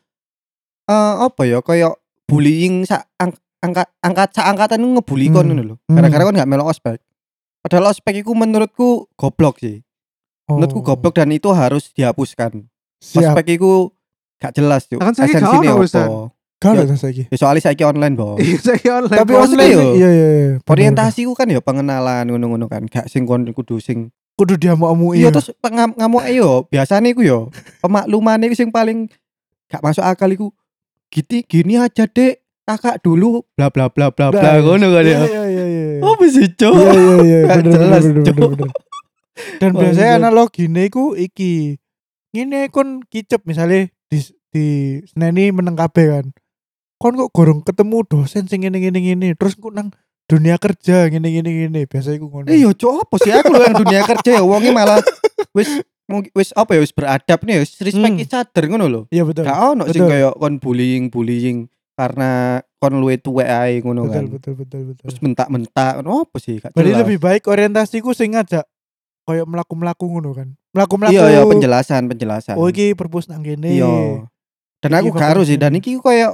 Speaker 3: eh apa ya kayak bullying sak ang, angkat angkat sak angkatan itu ngebully kon
Speaker 2: Hmm.
Speaker 3: ngono lho.
Speaker 2: Hmm.
Speaker 3: Gara-gara kon gak melok ospek. Padahal ospek iku menurutku goblok sih. Menurutku
Speaker 2: Oh.
Speaker 3: goblok dan itu harus dihapuskan.
Speaker 2: Siap.
Speaker 3: Ospek iku gak jelas yo.
Speaker 1: Kan saiki gak
Speaker 3: Esensinya
Speaker 1: ono wisan.
Speaker 3: apa?
Speaker 2: Gak
Speaker 3: Ya.
Speaker 2: ada saiki.
Speaker 3: Ya, soalnya saiki online, Bo.
Speaker 1: Iya saya online.
Speaker 2: Tapi
Speaker 3: maksudnya
Speaker 2: online
Speaker 3: yo,
Speaker 2: iya iya iya. Bener,
Speaker 3: Orientasi ku kan ya pengenalan ngono-ngono kan. Gak sing kon kudu sing
Speaker 2: bener. Kudu diamuk-amuk
Speaker 3: iya terus pengam ngamuk yo biasane iku yo pemakluman iku sing paling gak masuk akal iku gini gini aja dek kakak dulu bla bla bla bla bla ngono kan
Speaker 2: Iya
Speaker 3: ya.
Speaker 2: iya iya iya.
Speaker 3: Apa sih, Cok?
Speaker 2: Iya iya iya
Speaker 3: Gak
Speaker 2: bener bener
Speaker 3: jelas,
Speaker 2: bener
Speaker 3: Cok.
Speaker 2: bener, bener. Dan
Speaker 3: Wah,
Speaker 2: biasanya
Speaker 3: iya.
Speaker 2: analogine iku iki. Ngene kon kicep misalnya di di seneni meneng kabeh kan. Kon kok gorong ketemu dosen sing ngene ngene ngene terus kok nang dunia kerja ngene ngene ngene biasa iku ngono.
Speaker 3: Eh yo Cok, apa sih aku lho yang dunia kerja ya wonge malah wis mung- wis apa ya wis beradab nih wis respect
Speaker 2: Hmm.
Speaker 3: each other ngono lho.
Speaker 2: Iya betul.
Speaker 3: Gak ono sing
Speaker 2: Betul.
Speaker 3: kaya kon bullying-bullying karena kon luwe tuwek ae ngono
Speaker 2: Betul
Speaker 3: kan.
Speaker 2: betul betul betul.
Speaker 3: Terus mentak-mentak ngono apa sih gak
Speaker 2: Berarti
Speaker 3: jelas.
Speaker 2: lebih baik orientasiku sing ngajak koyo mlaku-mlaku ngono kan. Mlaku-mlaku.
Speaker 3: Iya ya penjelasan penjelasan.
Speaker 2: Oh iki perpus nang kene.
Speaker 3: Iya. Dan
Speaker 2: Iki
Speaker 3: aku
Speaker 2: bakal
Speaker 3: gak harus sih dan
Speaker 2: gini.
Speaker 3: iki kayak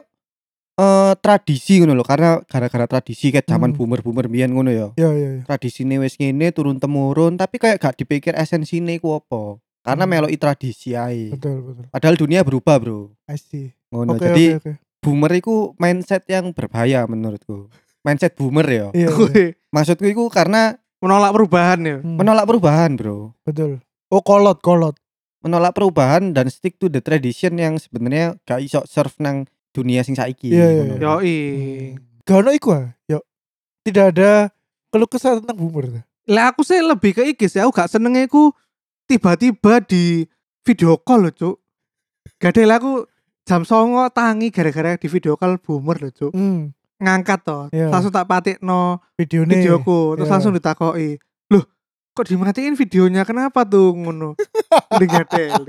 Speaker 3: eh tradisi ngono lho karena gara-gara tradisi kayak zaman
Speaker 2: Hmm.
Speaker 3: boomer-boomer biyen ngono ya.
Speaker 2: Iya iya iya.
Speaker 3: Tradisine wis ngene turun temurun tapi kayak gak dipikir esensine ku apa. Karena
Speaker 2: Hmm.
Speaker 3: meloki tradisi ae.
Speaker 2: Betul betul.
Speaker 3: Padahal dunia berubah, Bro.
Speaker 2: I see.
Speaker 3: Ngono.
Speaker 2: Oke
Speaker 3: Jadi
Speaker 2: oke oke.
Speaker 3: boomer iku mindset yang berbahaya menurutku. Mindset boomer ya.
Speaker 2: Iya. iya.
Speaker 1: Wih,
Speaker 3: Maksudku iku karena
Speaker 1: menolak perubahan ya.
Speaker 2: Hmm,
Speaker 3: menolak perubahan, Bro.
Speaker 2: betul. Oh kolot kolot.
Speaker 3: Menolak perubahan dan stick to the tradition yang sebenarnya gak iso serve nang dunia sing saiki.
Speaker 2: Iya, iya,
Speaker 3: ngono.
Speaker 2: iya.
Speaker 1: Yoi.
Speaker 2: Gak ono iku ah. Yo. Tidak ada keluh kesah tentang boomer.
Speaker 1: Lah aku sih lebih ke iki sih, aku gak senenge iku tiba-tiba di video call loh, Cuk. Gadel aku jam songo tangi gara-gara di video call boomer loh, Cuk.
Speaker 2: Hmm.
Speaker 1: Ngangkat toh,
Speaker 2: Iya.
Speaker 1: langsung tak patikno
Speaker 2: Videonya.
Speaker 1: videoku, terus
Speaker 2: Iya.
Speaker 1: langsung ditakoki. Loh, kok dimatiin videonya? Kenapa tuh ngono? Udah gadel.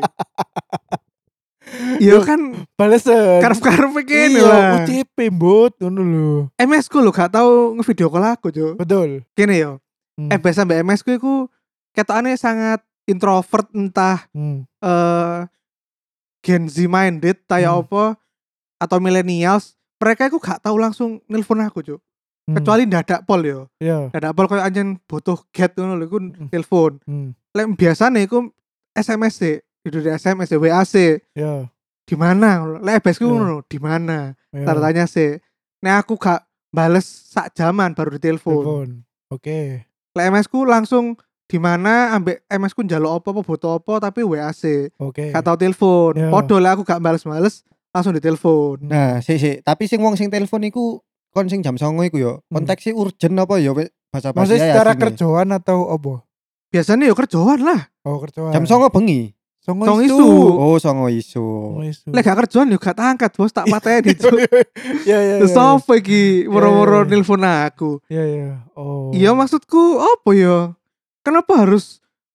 Speaker 1: Iya kan
Speaker 2: Balesan.
Speaker 1: karep-karep kene
Speaker 2: Iya,
Speaker 1: lah.
Speaker 2: U C P mbut ngono lho.
Speaker 1: M S ku lho gak tau ngevideo call aku, Cuk.
Speaker 2: Betul.
Speaker 1: Kene yo.
Speaker 2: Hmm.
Speaker 1: Eh biasa mbak M S ku iku ketokane sangat introvert entah
Speaker 2: Hmm.
Speaker 1: eh Gen Z minded kayak
Speaker 2: Hmm.
Speaker 1: apa atau millennials, mereka iku gak tahu langsung nelpon aku, Cuk.
Speaker 2: Hmm.
Speaker 1: Kecuali ndadak pol yo.
Speaker 2: Iya.
Speaker 1: Ndadak pol koyo anjen butuh get ngono lho iku telepon.
Speaker 2: Hmm.
Speaker 1: Lek biasane iku S M S sih, itu di S M S W A sih.
Speaker 2: Iya.
Speaker 1: Di mana? Lek B S ku
Speaker 2: Iya.
Speaker 1: ngono, di mana?
Speaker 2: Iya.
Speaker 1: Tanda tanya sih. Nek aku gak bales sak jaman baru ditelepon.
Speaker 2: Telepon. Oke.
Speaker 1: Lek M S ku langsung di mana ambek M S ku njaluk apa apa butuh apa tapi W A sih.
Speaker 2: Oke.
Speaker 1: Gak tau telepon.
Speaker 2: Iya.
Speaker 1: Podo lah aku gak bales-bales langsung ditelepon.
Speaker 3: Nah, sik sik, tapi sing wong sing telepon iku kon sing jam songo iku yo.
Speaker 2: Hmm.
Speaker 3: Konteksnya urgent apa ya bahasa bahasa
Speaker 2: Maksudnya secara kerjaan atau apa?
Speaker 1: Biasanya yo kerjaan lah.
Speaker 2: Oh kerjaan.
Speaker 3: Jam songo bengi.
Speaker 2: Songo
Speaker 1: Songo
Speaker 2: isu.
Speaker 1: isu.
Speaker 3: Oh, songo isu.
Speaker 2: Songo isu.
Speaker 1: Lek gak kerjaan yo gak angkat bos tak pateni Cuk.
Speaker 2: Iya iya.
Speaker 1: Terus
Speaker 2: iya.
Speaker 1: apa iki
Speaker 2: Iya,
Speaker 1: moro-moro
Speaker 2: iya.
Speaker 1: nelpon aku.
Speaker 2: Iya iya. Oh.
Speaker 1: Iya maksudku apa ya? Kenapa harus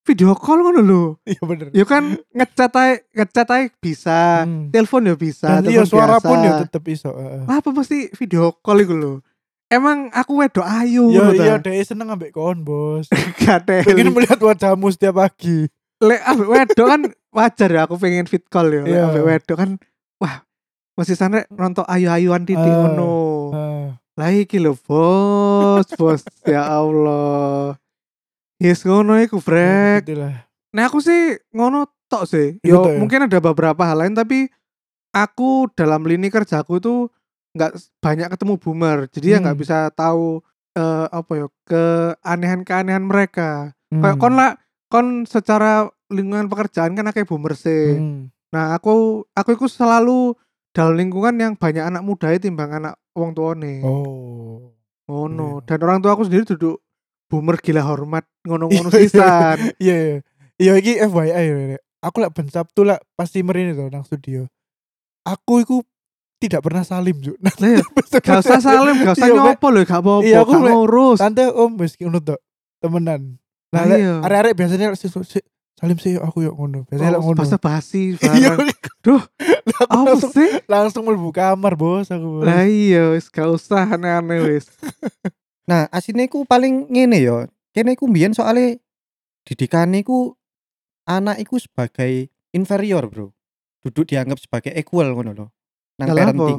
Speaker 1: video call ngono lho.
Speaker 2: Iya bener.
Speaker 1: Ya kan ngechat ae, ngechat ae bisa,
Speaker 2: Hmm.
Speaker 1: telepon ya bisa,
Speaker 2: Dan iya
Speaker 1: telepon
Speaker 2: suara
Speaker 1: biasa.
Speaker 2: pun ya tetep iso. Heeh.
Speaker 1: Apa mesti video call iku lho. Emang aku wedok ayu
Speaker 2: Iya
Speaker 1: ngono
Speaker 2: iya
Speaker 1: ta.
Speaker 2: dhek seneng ambek kon, Bos.
Speaker 1: Gak
Speaker 2: Pengen
Speaker 1: teli.
Speaker 2: melihat wajahmu setiap pagi.
Speaker 1: Lek ambek wedok kan wajar ya aku pengen fit call ya. Lek
Speaker 2: Iya.
Speaker 1: ambek wedok kan wah mesti sana nonton ayu-ayuan titik
Speaker 2: Ah.
Speaker 1: ngono.
Speaker 2: Heeh.
Speaker 1: Lah iki lho bos, bos ya Allah. Yes ngono iku brek.
Speaker 2: Itulah.
Speaker 1: Nah aku sih ngono tok sih.
Speaker 2: Iku
Speaker 1: Yo
Speaker 2: tok ya?
Speaker 1: mungkin ada beberapa hal lain tapi aku dalam lini kerjaku itu nggak s- banyak ketemu boomer. Jadi ya nggak
Speaker 2: Hmm.
Speaker 1: bisa tahu eh, apa ya keanehan-keanehan mereka. Kayak
Speaker 2: Hmm.
Speaker 1: kon lah kon secara lingkungan pekerjaan kan akeh boomer sih.
Speaker 2: Hmm.
Speaker 1: Nah aku aku itu selalu dalam lingkungan yang banyak anak muda timbang anak wong tuane.
Speaker 2: Oh.
Speaker 1: Ngono.
Speaker 2: Iya.
Speaker 1: Dan orang tua aku sendiri duduk boomer gila hormat ngono-ngono sisan.
Speaker 2: Iya iya. Iya iki F Y I ya. Rek. Aku lek ben Sabtu lek pasti merini to nang studio. Aku iku tidak pernah salim, Juk. Nah,
Speaker 1: Lah ya, gak usah salim, gak usah
Speaker 2: Iya, Mek.
Speaker 1: nyopo lho, gak apa-apa,
Speaker 2: Iya, aku
Speaker 1: gak
Speaker 2: lek-
Speaker 1: ngurus.
Speaker 2: Tante om wis ngono tok. Temenan. Nah,
Speaker 1: Lah
Speaker 2: lek
Speaker 1: iya.
Speaker 2: arek-arek biasanya lek siswa- si- salim sih aku yuk ngono. Biasanya lek ngono.
Speaker 1: Basa basi
Speaker 2: Iya.
Speaker 1: barang. Duh,
Speaker 2: Aku
Speaker 1: apa
Speaker 2: langsung
Speaker 1: sih?
Speaker 2: langsung mlebu kamar, Bos, aku. Bos.
Speaker 1: Lah iya, wis gak usah aneh-aneh wis.
Speaker 3: Nah, asine ku paling ngene ya. Kene ku mbiyen soalnya didikane ku anak iku sebagai inferior, Bro. Duduk dianggap sebagai equal ngono lho. Nang
Speaker 1: Lah, apa?
Speaker 3: parenting.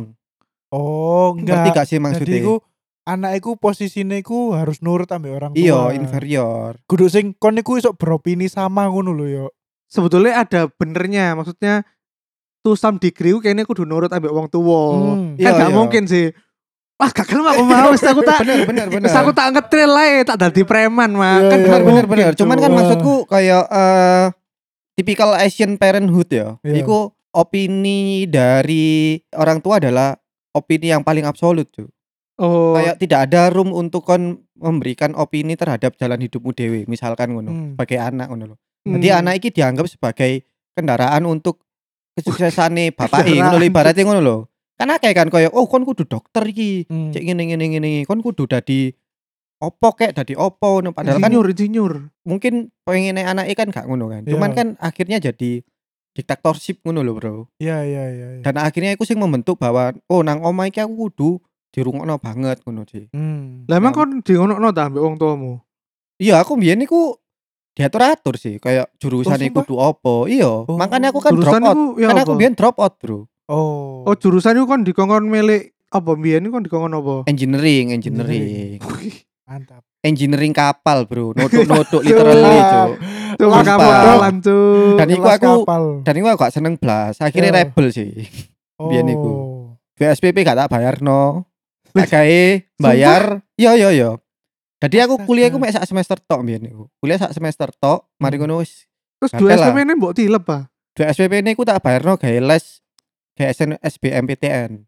Speaker 2: Oh,
Speaker 3: Ngerti
Speaker 2: enggak.
Speaker 3: gak sih
Speaker 2: Jadi
Speaker 3: maksudnya?
Speaker 2: iku anak iku posisine iku harus nurut ambek orang tua.
Speaker 3: Iya, inferior.
Speaker 2: Kudu sing kon iku iso beropini sama ngono lho yo.
Speaker 1: Sebetulnya ada benernya, maksudnya to some degree kayaknya kudu nurut ambek wong tuwa.
Speaker 2: Hmm.
Speaker 1: Kan
Speaker 3: Iya,
Speaker 1: gak
Speaker 3: iya.
Speaker 1: mungkin sih. Wah, gak gelem aku mau wis aku tak
Speaker 3: Bener bener bener.
Speaker 1: wis aku tak ngetril ae, tak dadi preman mah.
Speaker 2: Iya,
Speaker 1: Kan
Speaker 2: iya.
Speaker 1: gak
Speaker 3: bener bener
Speaker 1: mungkin,
Speaker 3: bener. Cuman kan
Speaker 1: Cuk.
Speaker 3: maksudku kayak eh typical Asian parenthood ya.
Speaker 2: Iya.
Speaker 3: Iku opini dari orang tua adalah opini yang paling absolut, cuy.
Speaker 1: Oh,
Speaker 3: Kayak tidak ada room untuk kon memberikan opini terhadap jalan hidupmu dewe, misalkan ngono.
Speaker 2: Hmm.
Speaker 3: Sebagai anak ngono lho.
Speaker 1: hmm.
Speaker 3: Jadi anak iki dianggap sebagai kendaraan untuk kesuksesane bapake
Speaker 1: Kendaraan.
Speaker 3: ngono lho ibaratnya ngono lho. Kan akeh kan koyo oh kon kudu dokter iki.
Speaker 2: Hmm.
Speaker 3: Cek ngene ngene ngene kon kudu dadi opo kek dadi opo ngono padahal kan
Speaker 1: insinyur, insinyur.
Speaker 3: mungkin pengen anaknya kan gak ngono kan. Cuman
Speaker 2: Iya.
Speaker 3: kan akhirnya jadi diktatorship ngono lho, Bro.
Speaker 2: Iya iya iya. iya.
Speaker 3: Dan akhirnya aku sing membentuk bahwa oh nang omah iki aku kudu dirungokno banget ngono sih.
Speaker 2: Hmm.
Speaker 1: Lah emang
Speaker 3: Nah.
Speaker 1: kon di ngono ta ambek wong tuamu?
Speaker 3: Iya, aku mbiyen iku diatur-atur sih kayak jurusan
Speaker 2: Oh, sumpah?
Speaker 3: kudu opo. Iya,
Speaker 2: Oh,
Speaker 3: makanya aku kan drop
Speaker 1: Jurusan
Speaker 3: out.
Speaker 1: iku ya
Speaker 3: Kan
Speaker 1: apa?
Speaker 3: aku mbiyen drop out, Bro.
Speaker 2: Oh.
Speaker 1: Oh, jurusan iku kon dikongkon milik apa mbiyen iku kon dikongkon apa?
Speaker 3: Engineering, engineering.
Speaker 2: Mantap.
Speaker 3: Engineering kapal, Bro. Nodok-nodok literally, Cuk.
Speaker 1: Tuh
Speaker 3: Sumpah.
Speaker 1: kapalan tuh.
Speaker 3: Dan iku
Speaker 2: Kelas
Speaker 3: aku
Speaker 2: kapal.
Speaker 3: dan iku aku gak seneng blas. Akhirnya
Speaker 2: Iya.
Speaker 3: rebel sih. biyen iku.
Speaker 2: Oh.
Speaker 3: B S P P gak tak bayarno. Tak gawe bayar. Iya iya iya. Jadi aku
Speaker 2: Astaga.
Speaker 3: kuliah iku mek sak semester tok mbiyen niku. Kuliah sak semester tok, mari
Speaker 2: Hmm.
Speaker 3: ngono wis
Speaker 1: Terus
Speaker 3: Gatel
Speaker 1: dua S P
Speaker 3: lah.
Speaker 1: P ini mbok tilep ah.
Speaker 3: B S P P niku tak bayarno gawe les gawe S B M P T N.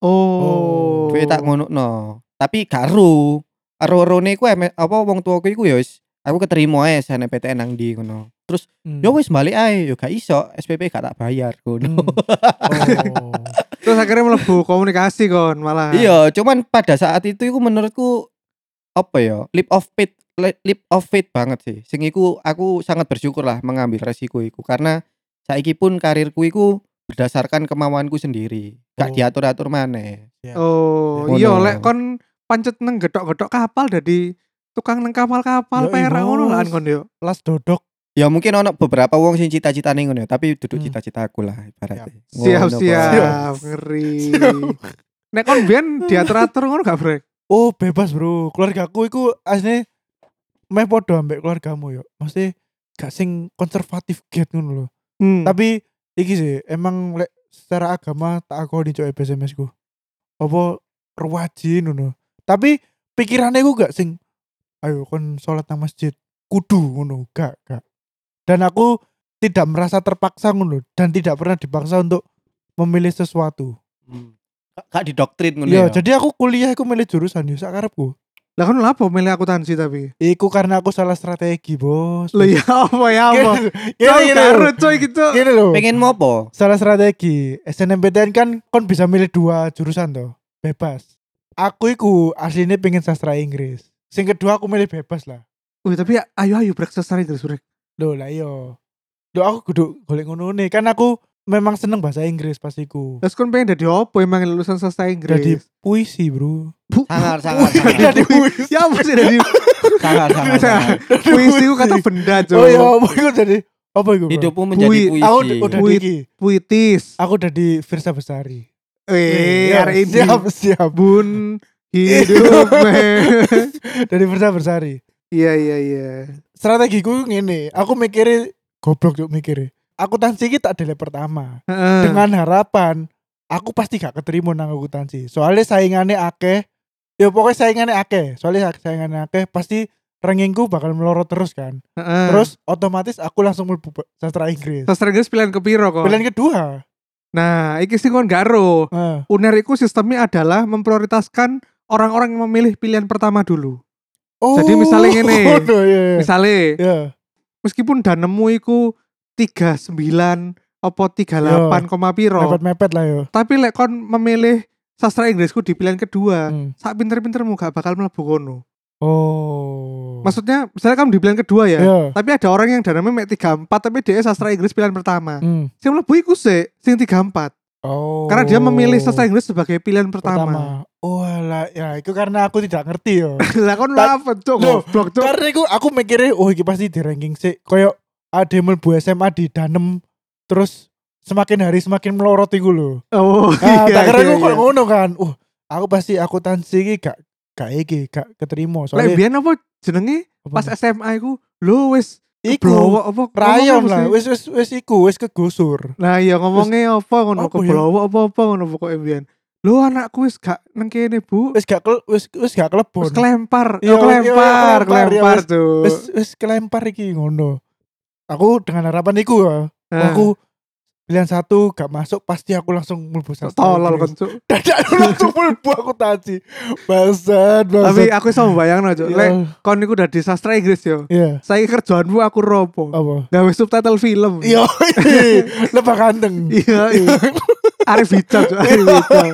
Speaker 1: Oh.
Speaker 3: Duwe tak ngonokno. Tapi gak ero. Ero-erone iku eme- apa wong tuaku iku ya wis aku keterima ae S N M P T N nang ndi ngono. Terus
Speaker 2: Hmm.
Speaker 3: ya wis balik ae, yo gak iso S P P gak tak bayar ngono.
Speaker 2: Hmm. Oh.
Speaker 1: Terus akhirnya mlebu komunikasi kon malah.
Speaker 3: Iya, cuman pada saat itu iku menurutku apa ya? Leap of faith, le- leap of faith banget sih. Sing iku aku sangat bersyukur lah mengambil resiko iku karena saiki pun karirku iku berdasarkan kemauanku sendiri. Gak
Speaker 2: Oh.
Speaker 3: diatur-atur maneh.
Speaker 2: Ya.
Speaker 1: Oh,
Speaker 3: Ngono.
Speaker 1: iya lek kon pancet neng gedok-gedok kapal dadi tukang neng kapal-kapal
Speaker 2: Yoi,
Speaker 1: perak ngono lah
Speaker 2: Bos.
Speaker 1: kon yo.
Speaker 2: Las dodok.
Speaker 3: Ya mungkin ono beberapa wong sing cita-citane ngono ya, tapi duduk
Speaker 2: Hmm.
Speaker 3: cita-cita aku lah ibaratnya. Ngono,
Speaker 1: Siap-siap,
Speaker 3: Bos.
Speaker 1: ngeri. Nek kon biyen diatur-atur ngono gak, Brek?
Speaker 2: Oh, bebas, Bro. Keluargaku iku asline meh padha ambek keluargamu yo. Mesti gak sing konservatif get ngono lho.
Speaker 1: Hmm.
Speaker 2: Tapi iki sih emang lek secara agama tak akoni cok B S M S ku. Apa rewajin ngono. Tapi pikirannya ku gak sing ayo kon sholat nang masjid kudu ngono, gak gak. Dan aku tidak merasa terpaksa ngono dan tidak pernah dipaksa untuk memilih sesuatu.
Speaker 3: Hmm. Gak- Gak didoktrin ngono
Speaker 2: Iya,
Speaker 3: ya.
Speaker 2: jadi aku kuliah aku milih jurusan yo sak karepku.
Speaker 1: Lah kon lha apa milih akuntansi tapi?
Speaker 2: Iku karena aku salah strategi, Bos.
Speaker 1: Lah ya apa ya apa?
Speaker 2: Gini,
Speaker 1: Coy,
Speaker 2: gini,
Speaker 1: karo
Speaker 2: lho.
Speaker 1: coy gitu.
Speaker 2: Gini loh.
Speaker 3: Pengen mau apa?
Speaker 2: Salah strategi. S N M P T N kan kon bisa milih dua jurusan toh. Bebas. Aku iku aslinya pengen sastra Inggris. Sing kedua aku milih bebas lah.
Speaker 1: Wih, tapi ayo ayo Brek sesari terus Brek.
Speaker 2: Loh lah iya. Loh aku kudu golek ngono nih kan aku memang seneng bahasa Inggris pas iku.
Speaker 1: Terus kon pengen dadi opo emang lulusan sastra
Speaker 2: Jadi
Speaker 1: Inggris?
Speaker 2: puisi, Bro.
Speaker 3: Sangar, sangar,
Speaker 2: Puisi,
Speaker 3: sangar.
Speaker 2: jadi puisi.
Speaker 1: Ya apa sih dadi
Speaker 3: Sangar, sangar, sangar.
Speaker 1: puisi ku kata benda, Cuk.
Speaker 2: Oh iya, apa iku jadi apa iku? Bro?
Speaker 3: Hidupmu menjadi
Speaker 1: Pui-
Speaker 3: puisi.
Speaker 2: Aku udah udah
Speaker 1: Puit-
Speaker 2: di
Speaker 1: Puitis.
Speaker 2: Aku udah di Firsa Besari.
Speaker 1: Eh,
Speaker 2: Iya,
Speaker 1: hari ini
Speaker 2: siap siap.
Speaker 1: bun hidup men.
Speaker 2: Dari Firsa Besari.
Speaker 1: Iya iya iya.
Speaker 2: Strategiku ngene, aku mikirnya goblok yuk mikirnya. Akuntansi iki tak delek pertama.
Speaker 1: Heeh.
Speaker 2: Dengan harapan aku pasti gak keterima nang akuntansi. Soalnya saingannya akeh. Ya pokoknya saingannya akeh. Soalnya saingannya akeh pasti rankingku bakal melorot terus kan.
Speaker 1: Heeh.
Speaker 2: Terus otomatis aku langsung mlebu sastra Inggris.
Speaker 1: sastra Inggris pilihan kepiro kok?
Speaker 2: Pilihan kedua.
Speaker 1: Nah, iki sing kon gak ero.
Speaker 2: Heeh.
Speaker 1: U N E R iku sistemnya adalah memprioritaskan orang-orang yang memilih pilihan pertama dulu.
Speaker 2: Oh,
Speaker 1: Jadi misalnya ngene.
Speaker 2: oh, iya, iya.
Speaker 1: Misalnya,
Speaker 2: Iya.
Speaker 1: meskipun danemu iku tiga puluh sembilan apa tiga puluh delapan, koma piro.
Speaker 2: Mepet-mepet lah yo.
Speaker 1: Tapi lek kon memilih sastra Inggrisku di pilihan kedua,
Speaker 2: Hmm.
Speaker 1: sak pinter-pintermu gak bakal mlebu kono.
Speaker 2: Oh.
Speaker 1: Maksudnya, misalnya kamu di pilihan kedua ya,
Speaker 2: Iya.
Speaker 1: tapi ada orang yang dananya mek tiga puluh empat tapi dia sastra Inggris pilihan pertama.
Speaker 2: Hmm.
Speaker 1: Sing mlebu iku sih sing tiga puluh empat.
Speaker 2: Oh.
Speaker 1: Karena dia memilih sastra Inggris sebagai pilihan pertama.
Speaker 2: pertama. Oh alah, ya itu karena aku tidak ngerti yo.
Speaker 1: Lah kon
Speaker 2: Ta-
Speaker 1: apa cuk?
Speaker 2: Loh,
Speaker 1: Goblok cuk.
Speaker 2: Karena aku aku mikirnya oh iki pasti di ranking sih. Kayak ada mlebu S M A di Danem terus semakin hari semakin melorot iku lho.
Speaker 1: Oh
Speaker 2: Nah,
Speaker 1: iya.
Speaker 2: tak kira
Speaker 1: iya,
Speaker 2: aku kok
Speaker 1: iya.
Speaker 2: ngono kan. Uh, aku pasti akuntansi iki gak gak iki, gak keterima
Speaker 1: Lek
Speaker 2: soalnya
Speaker 1: biyen apa jenenge
Speaker 2: apa
Speaker 1: pas
Speaker 2: nih?
Speaker 1: S M A iku lho wis
Speaker 2: Iku,
Speaker 1: keblowok apa
Speaker 2: rayon
Speaker 1: ngomong apa
Speaker 2: lah,
Speaker 1: sih?
Speaker 2: wis wis wis iku, wis kegusur.
Speaker 1: Nah iya ngomongnya apa ngono
Speaker 2: apa ya?
Speaker 1: keblowok apa-apa ngono pokoke biyen. Lho anakku wis gak nang kene, Bu.
Speaker 2: Wis gak kel, wis wis gak kelebon.
Speaker 1: Wis kelempar.
Speaker 2: Iya,
Speaker 1: Oh, kelempar,
Speaker 2: iya, kelempar, ya,
Speaker 1: kelempar
Speaker 2: wis-
Speaker 1: tuh.
Speaker 2: Wis wis kelempar iki ngono. Aku dengan harapan iku ya.
Speaker 1: Nah,
Speaker 2: Aku pilihan satu gak masuk pasti aku langsung mlebu sastra
Speaker 1: tolol
Speaker 2: Inggris.
Speaker 1: kan cuk.
Speaker 2: Dadak aku langsung mlebu akuntansi. Bangsat, bangsat.
Speaker 1: Tapi aku iso mbayangno cuk.
Speaker 2: Iya.
Speaker 1: Lek kon niku udah di sastra Inggris yo.
Speaker 2: Iya.
Speaker 1: Saiki kerjaanmu aku ropo.
Speaker 2: Apa?
Speaker 1: Gawe subtitle film.
Speaker 2: Iya, lebah ganteng.
Speaker 1: Iya. iya. Arif Hijau cuk, Arif Hijau.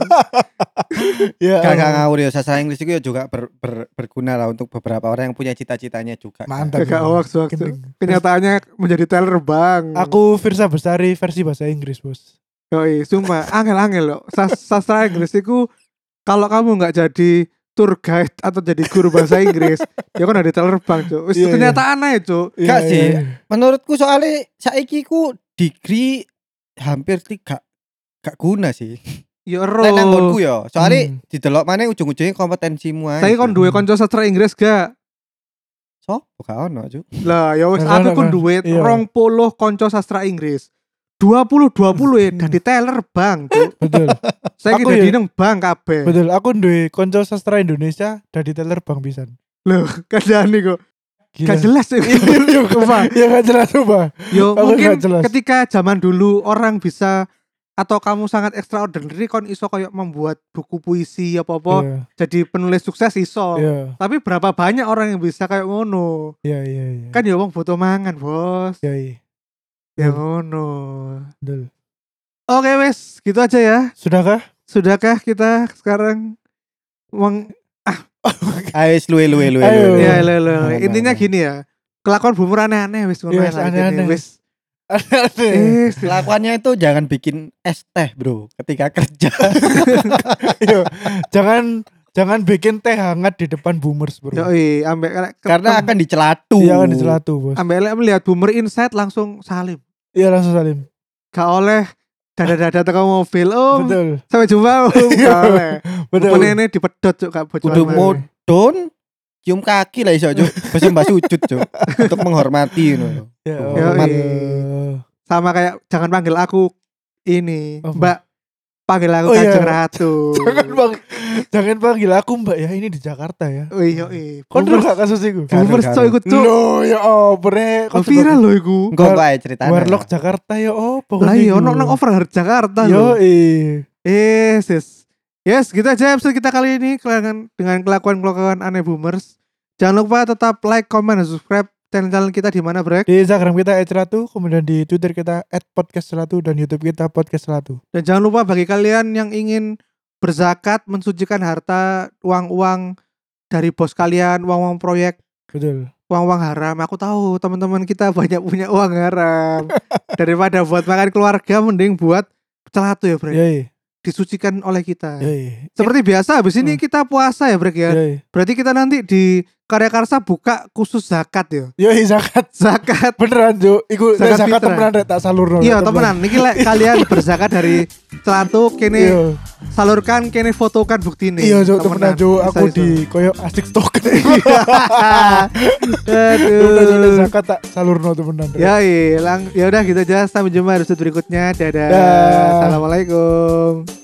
Speaker 2: Iya.
Speaker 3: Gak gak ngawur ya, sastra Inggris itu ya juga ber, ber- berguna lah untuk beberapa orang yang punya cita-citanya juga.
Speaker 2: Mantap.
Speaker 1: Gak hoax hoax. Cuk.
Speaker 2: Gendeng.
Speaker 1: Kenyataannya menjadi teller bang.
Speaker 2: Aku Firsa Besari versi bahasa Inggris, Bos.
Speaker 1: Yoi, sumpah angel-angel loh. Sas- Sastra Inggris itu kalau kamu nggak jadi tour guide atau jadi guru bahasa Inggris, ya kan ada teller bang, Cuk. Wis
Speaker 2: Iya, iya.
Speaker 1: kenyataan aja, Cuk.
Speaker 3: Gak
Speaker 2: Iya,
Speaker 3: sih.
Speaker 2: iya.
Speaker 3: Menurutku soalnya saiki ku degree hampir tiga gak guna sih.
Speaker 1: Ya ero.
Speaker 3: Lek nanggonku ya, soalnya
Speaker 2: Hmm.
Speaker 3: didelok mana ujung-ujungnya kompetensimu aja.
Speaker 1: Saya kon duwe kanca sastra Inggris gak?
Speaker 3: so, gak ono, Cuk.
Speaker 1: Lah, ya wis
Speaker 2: Nah,
Speaker 1: aku
Speaker 2: nah,
Speaker 1: kon
Speaker 2: nah.
Speaker 1: duwe
Speaker 2: Iya.
Speaker 1: rong puluh kanca sastra Inggris. dua puluh dua puluh ya
Speaker 2: Hmm.
Speaker 1: dadi teller bang, Cuk.
Speaker 2: Betul.
Speaker 1: Saya
Speaker 2: Aku
Speaker 1: dadi
Speaker 2: ya-
Speaker 1: nang bank kabeh.
Speaker 2: Betul, aku duwe konco sastra Indonesia dari teller Bang pisan.
Speaker 1: Loh, kadane kok
Speaker 2: Gila.
Speaker 1: gak jelas ya.
Speaker 2: Iya,
Speaker 1: Sumpah.
Speaker 2: ya gak jelas coba.
Speaker 1: Yo
Speaker 2: Aku
Speaker 1: mungkin
Speaker 2: gak jelas.
Speaker 1: ketika zaman dulu orang bisa atau kamu sangat extraordinary kon iso kayak membuat buku puisi apa-apa
Speaker 2: Iya,
Speaker 1: jadi penulis sukses iso.
Speaker 2: iya,
Speaker 1: Tapi berapa banyak orang yang bisa kayak ngono?
Speaker 2: iya, iya, iya.
Speaker 1: Kan ya wong butuh mangan, Bos.
Speaker 2: Iya, iya,
Speaker 1: Ya
Speaker 2: betul.
Speaker 1: ngono.
Speaker 2: betul.
Speaker 1: Oke, wes, gitu aja ya.
Speaker 2: Sudahkah?
Speaker 1: Sudahkah kita sekarang meng
Speaker 3: Ayo luwe luwe luwe.
Speaker 2: Ayo.
Speaker 3: luwe.
Speaker 1: ya lo, lo.
Speaker 3: Nah, nah,
Speaker 1: Intinya
Speaker 3: nah.
Speaker 1: gini ya. Kelakuan boomer aneh-aneh wis ngono
Speaker 2: Yes,
Speaker 1: lah,
Speaker 2: aneh-aneh.
Speaker 1: gini, Wis.
Speaker 2: Aneh.
Speaker 1: Eh,
Speaker 3: Kelakuannya itu jangan bikin es teh, Bro, ketika kerja.
Speaker 2: Iya, jangan jangan bikin teh hangat di depan boomers, Bro.
Speaker 1: Yoi, ambek
Speaker 3: Karena akan dicelatu.
Speaker 2: Iya kan dicelatu, Bos.
Speaker 1: ambek lek melihat boomer insight langsung salim.
Speaker 2: Iya langsung salim.
Speaker 1: Gak oleh dada-dada teko mobil. Oh,
Speaker 2: Betul.
Speaker 1: sampai jumpa. Oh, gak oleh.
Speaker 2: Betul.
Speaker 1: Menene dipedot cuk gak bocor.
Speaker 3: Kudu modon, cium kaki lah iso, Cuk. Bersembah sujud, Cuk. Untuk menghormati ngono.
Speaker 2: Ya,
Speaker 1: Yoi.
Speaker 2: Allah.
Speaker 1: Sama kayak jangan panggil aku ini,
Speaker 2: Apa?
Speaker 1: Mbak. Panggil aku
Speaker 2: Oh, iya.
Speaker 1: Kanjeng Ratu.
Speaker 2: Jangan bang, jangan panggil aku Mbak ya, ini di Jakarta ya.
Speaker 1: Oh iya, iya.
Speaker 2: Kau dulu
Speaker 1: Boomers,
Speaker 2: gak kasus itu?
Speaker 3: Gak.
Speaker 1: boomers
Speaker 3: Garu,
Speaker 1: cok ikut cok.
Speaker 2: Loh ya oh bre,
Speaker 1: Oh, viral loh iku.
Speaker 3: Engko
Speaker 2: War-
Speaker 3: bae ceritanya.
Speaker 2: Warlock Jakarta ya oh
Speaker 1: Lah
Speaker 2: pokoknya.
Speaker 1: iya ono nang overheard Jakarta
Speaker 2: Yo
Speaker 1: loh.
Speaker 2: eh.
Speaker 1: Yes, yes. Yes, gitu aja episode kita kali ini dengan dengan kelakuan-kelakuan aneh boomers. Jangan lupa tetap like, comment, dan subscribe channel-channel kita di mana, Brek.
Speaker 2: Di Instagram kita et selatu, kemudian di Twitter kita et podcast selatu dan YouTube kita podcast selatu.
Speaker 1: Dan jangan lupa bagi kalian yang ingin berzakat, mensucikan harta, uang-uang dari bos kalian, uang-uang proyek,
Speaker 2: Betul.
Speaker 1: uang-uang haram. Aku tahu teman-teman kita banyak punya uang haram. Daripada buat makan keluarga mending buat celatu ya, Brek.
Speaker 2: Iya, iya.
Speaker 1: Disucikan oleh kita.
Speaker 2: Iya, iya.
Speaker 1: Seperti biasa habis ini
Speaker 2: Hmm.
Speaker 1: kita puasa ya, Brek ya.
Speaker 2: Iya, iya.
Speaker 1: Berarti kita nanti di Karya Karsa buka khusus zakat ya.
Speaker 2: Iya, iya, zakat.
Speaker 1: Zakat.
Speaker 2: Beneran, Jo. Iku
Speaker 1: Zakat
Speaker 2: zakat, zakat
Speaker 1: fitrah.
Speaker 2: temenan rek tak salurno.
Speaker 1: Iya, temenan. Niki lek kalian berzakat dari celatu kene
Speaker 2: Iya.
Speaker 1: salurkan kene fotokan buktine.
Speaker 2: Iya, Jo, temenan, Jo. Aku
Speaker 1: Bisa-bisa.
Speaker 2: di koyo asik stok.
Speaker 1: Aduh.
Speaker 2: Udah udah zakat tak salurno temenan. Rek.
Speaker 1: Ya, iya, lang, ya udah gitu aja. Sampai jumpa di episode berikutnya. Dadah.
Speaker 2: Dah.
Speaker 1: Assalamualaikum.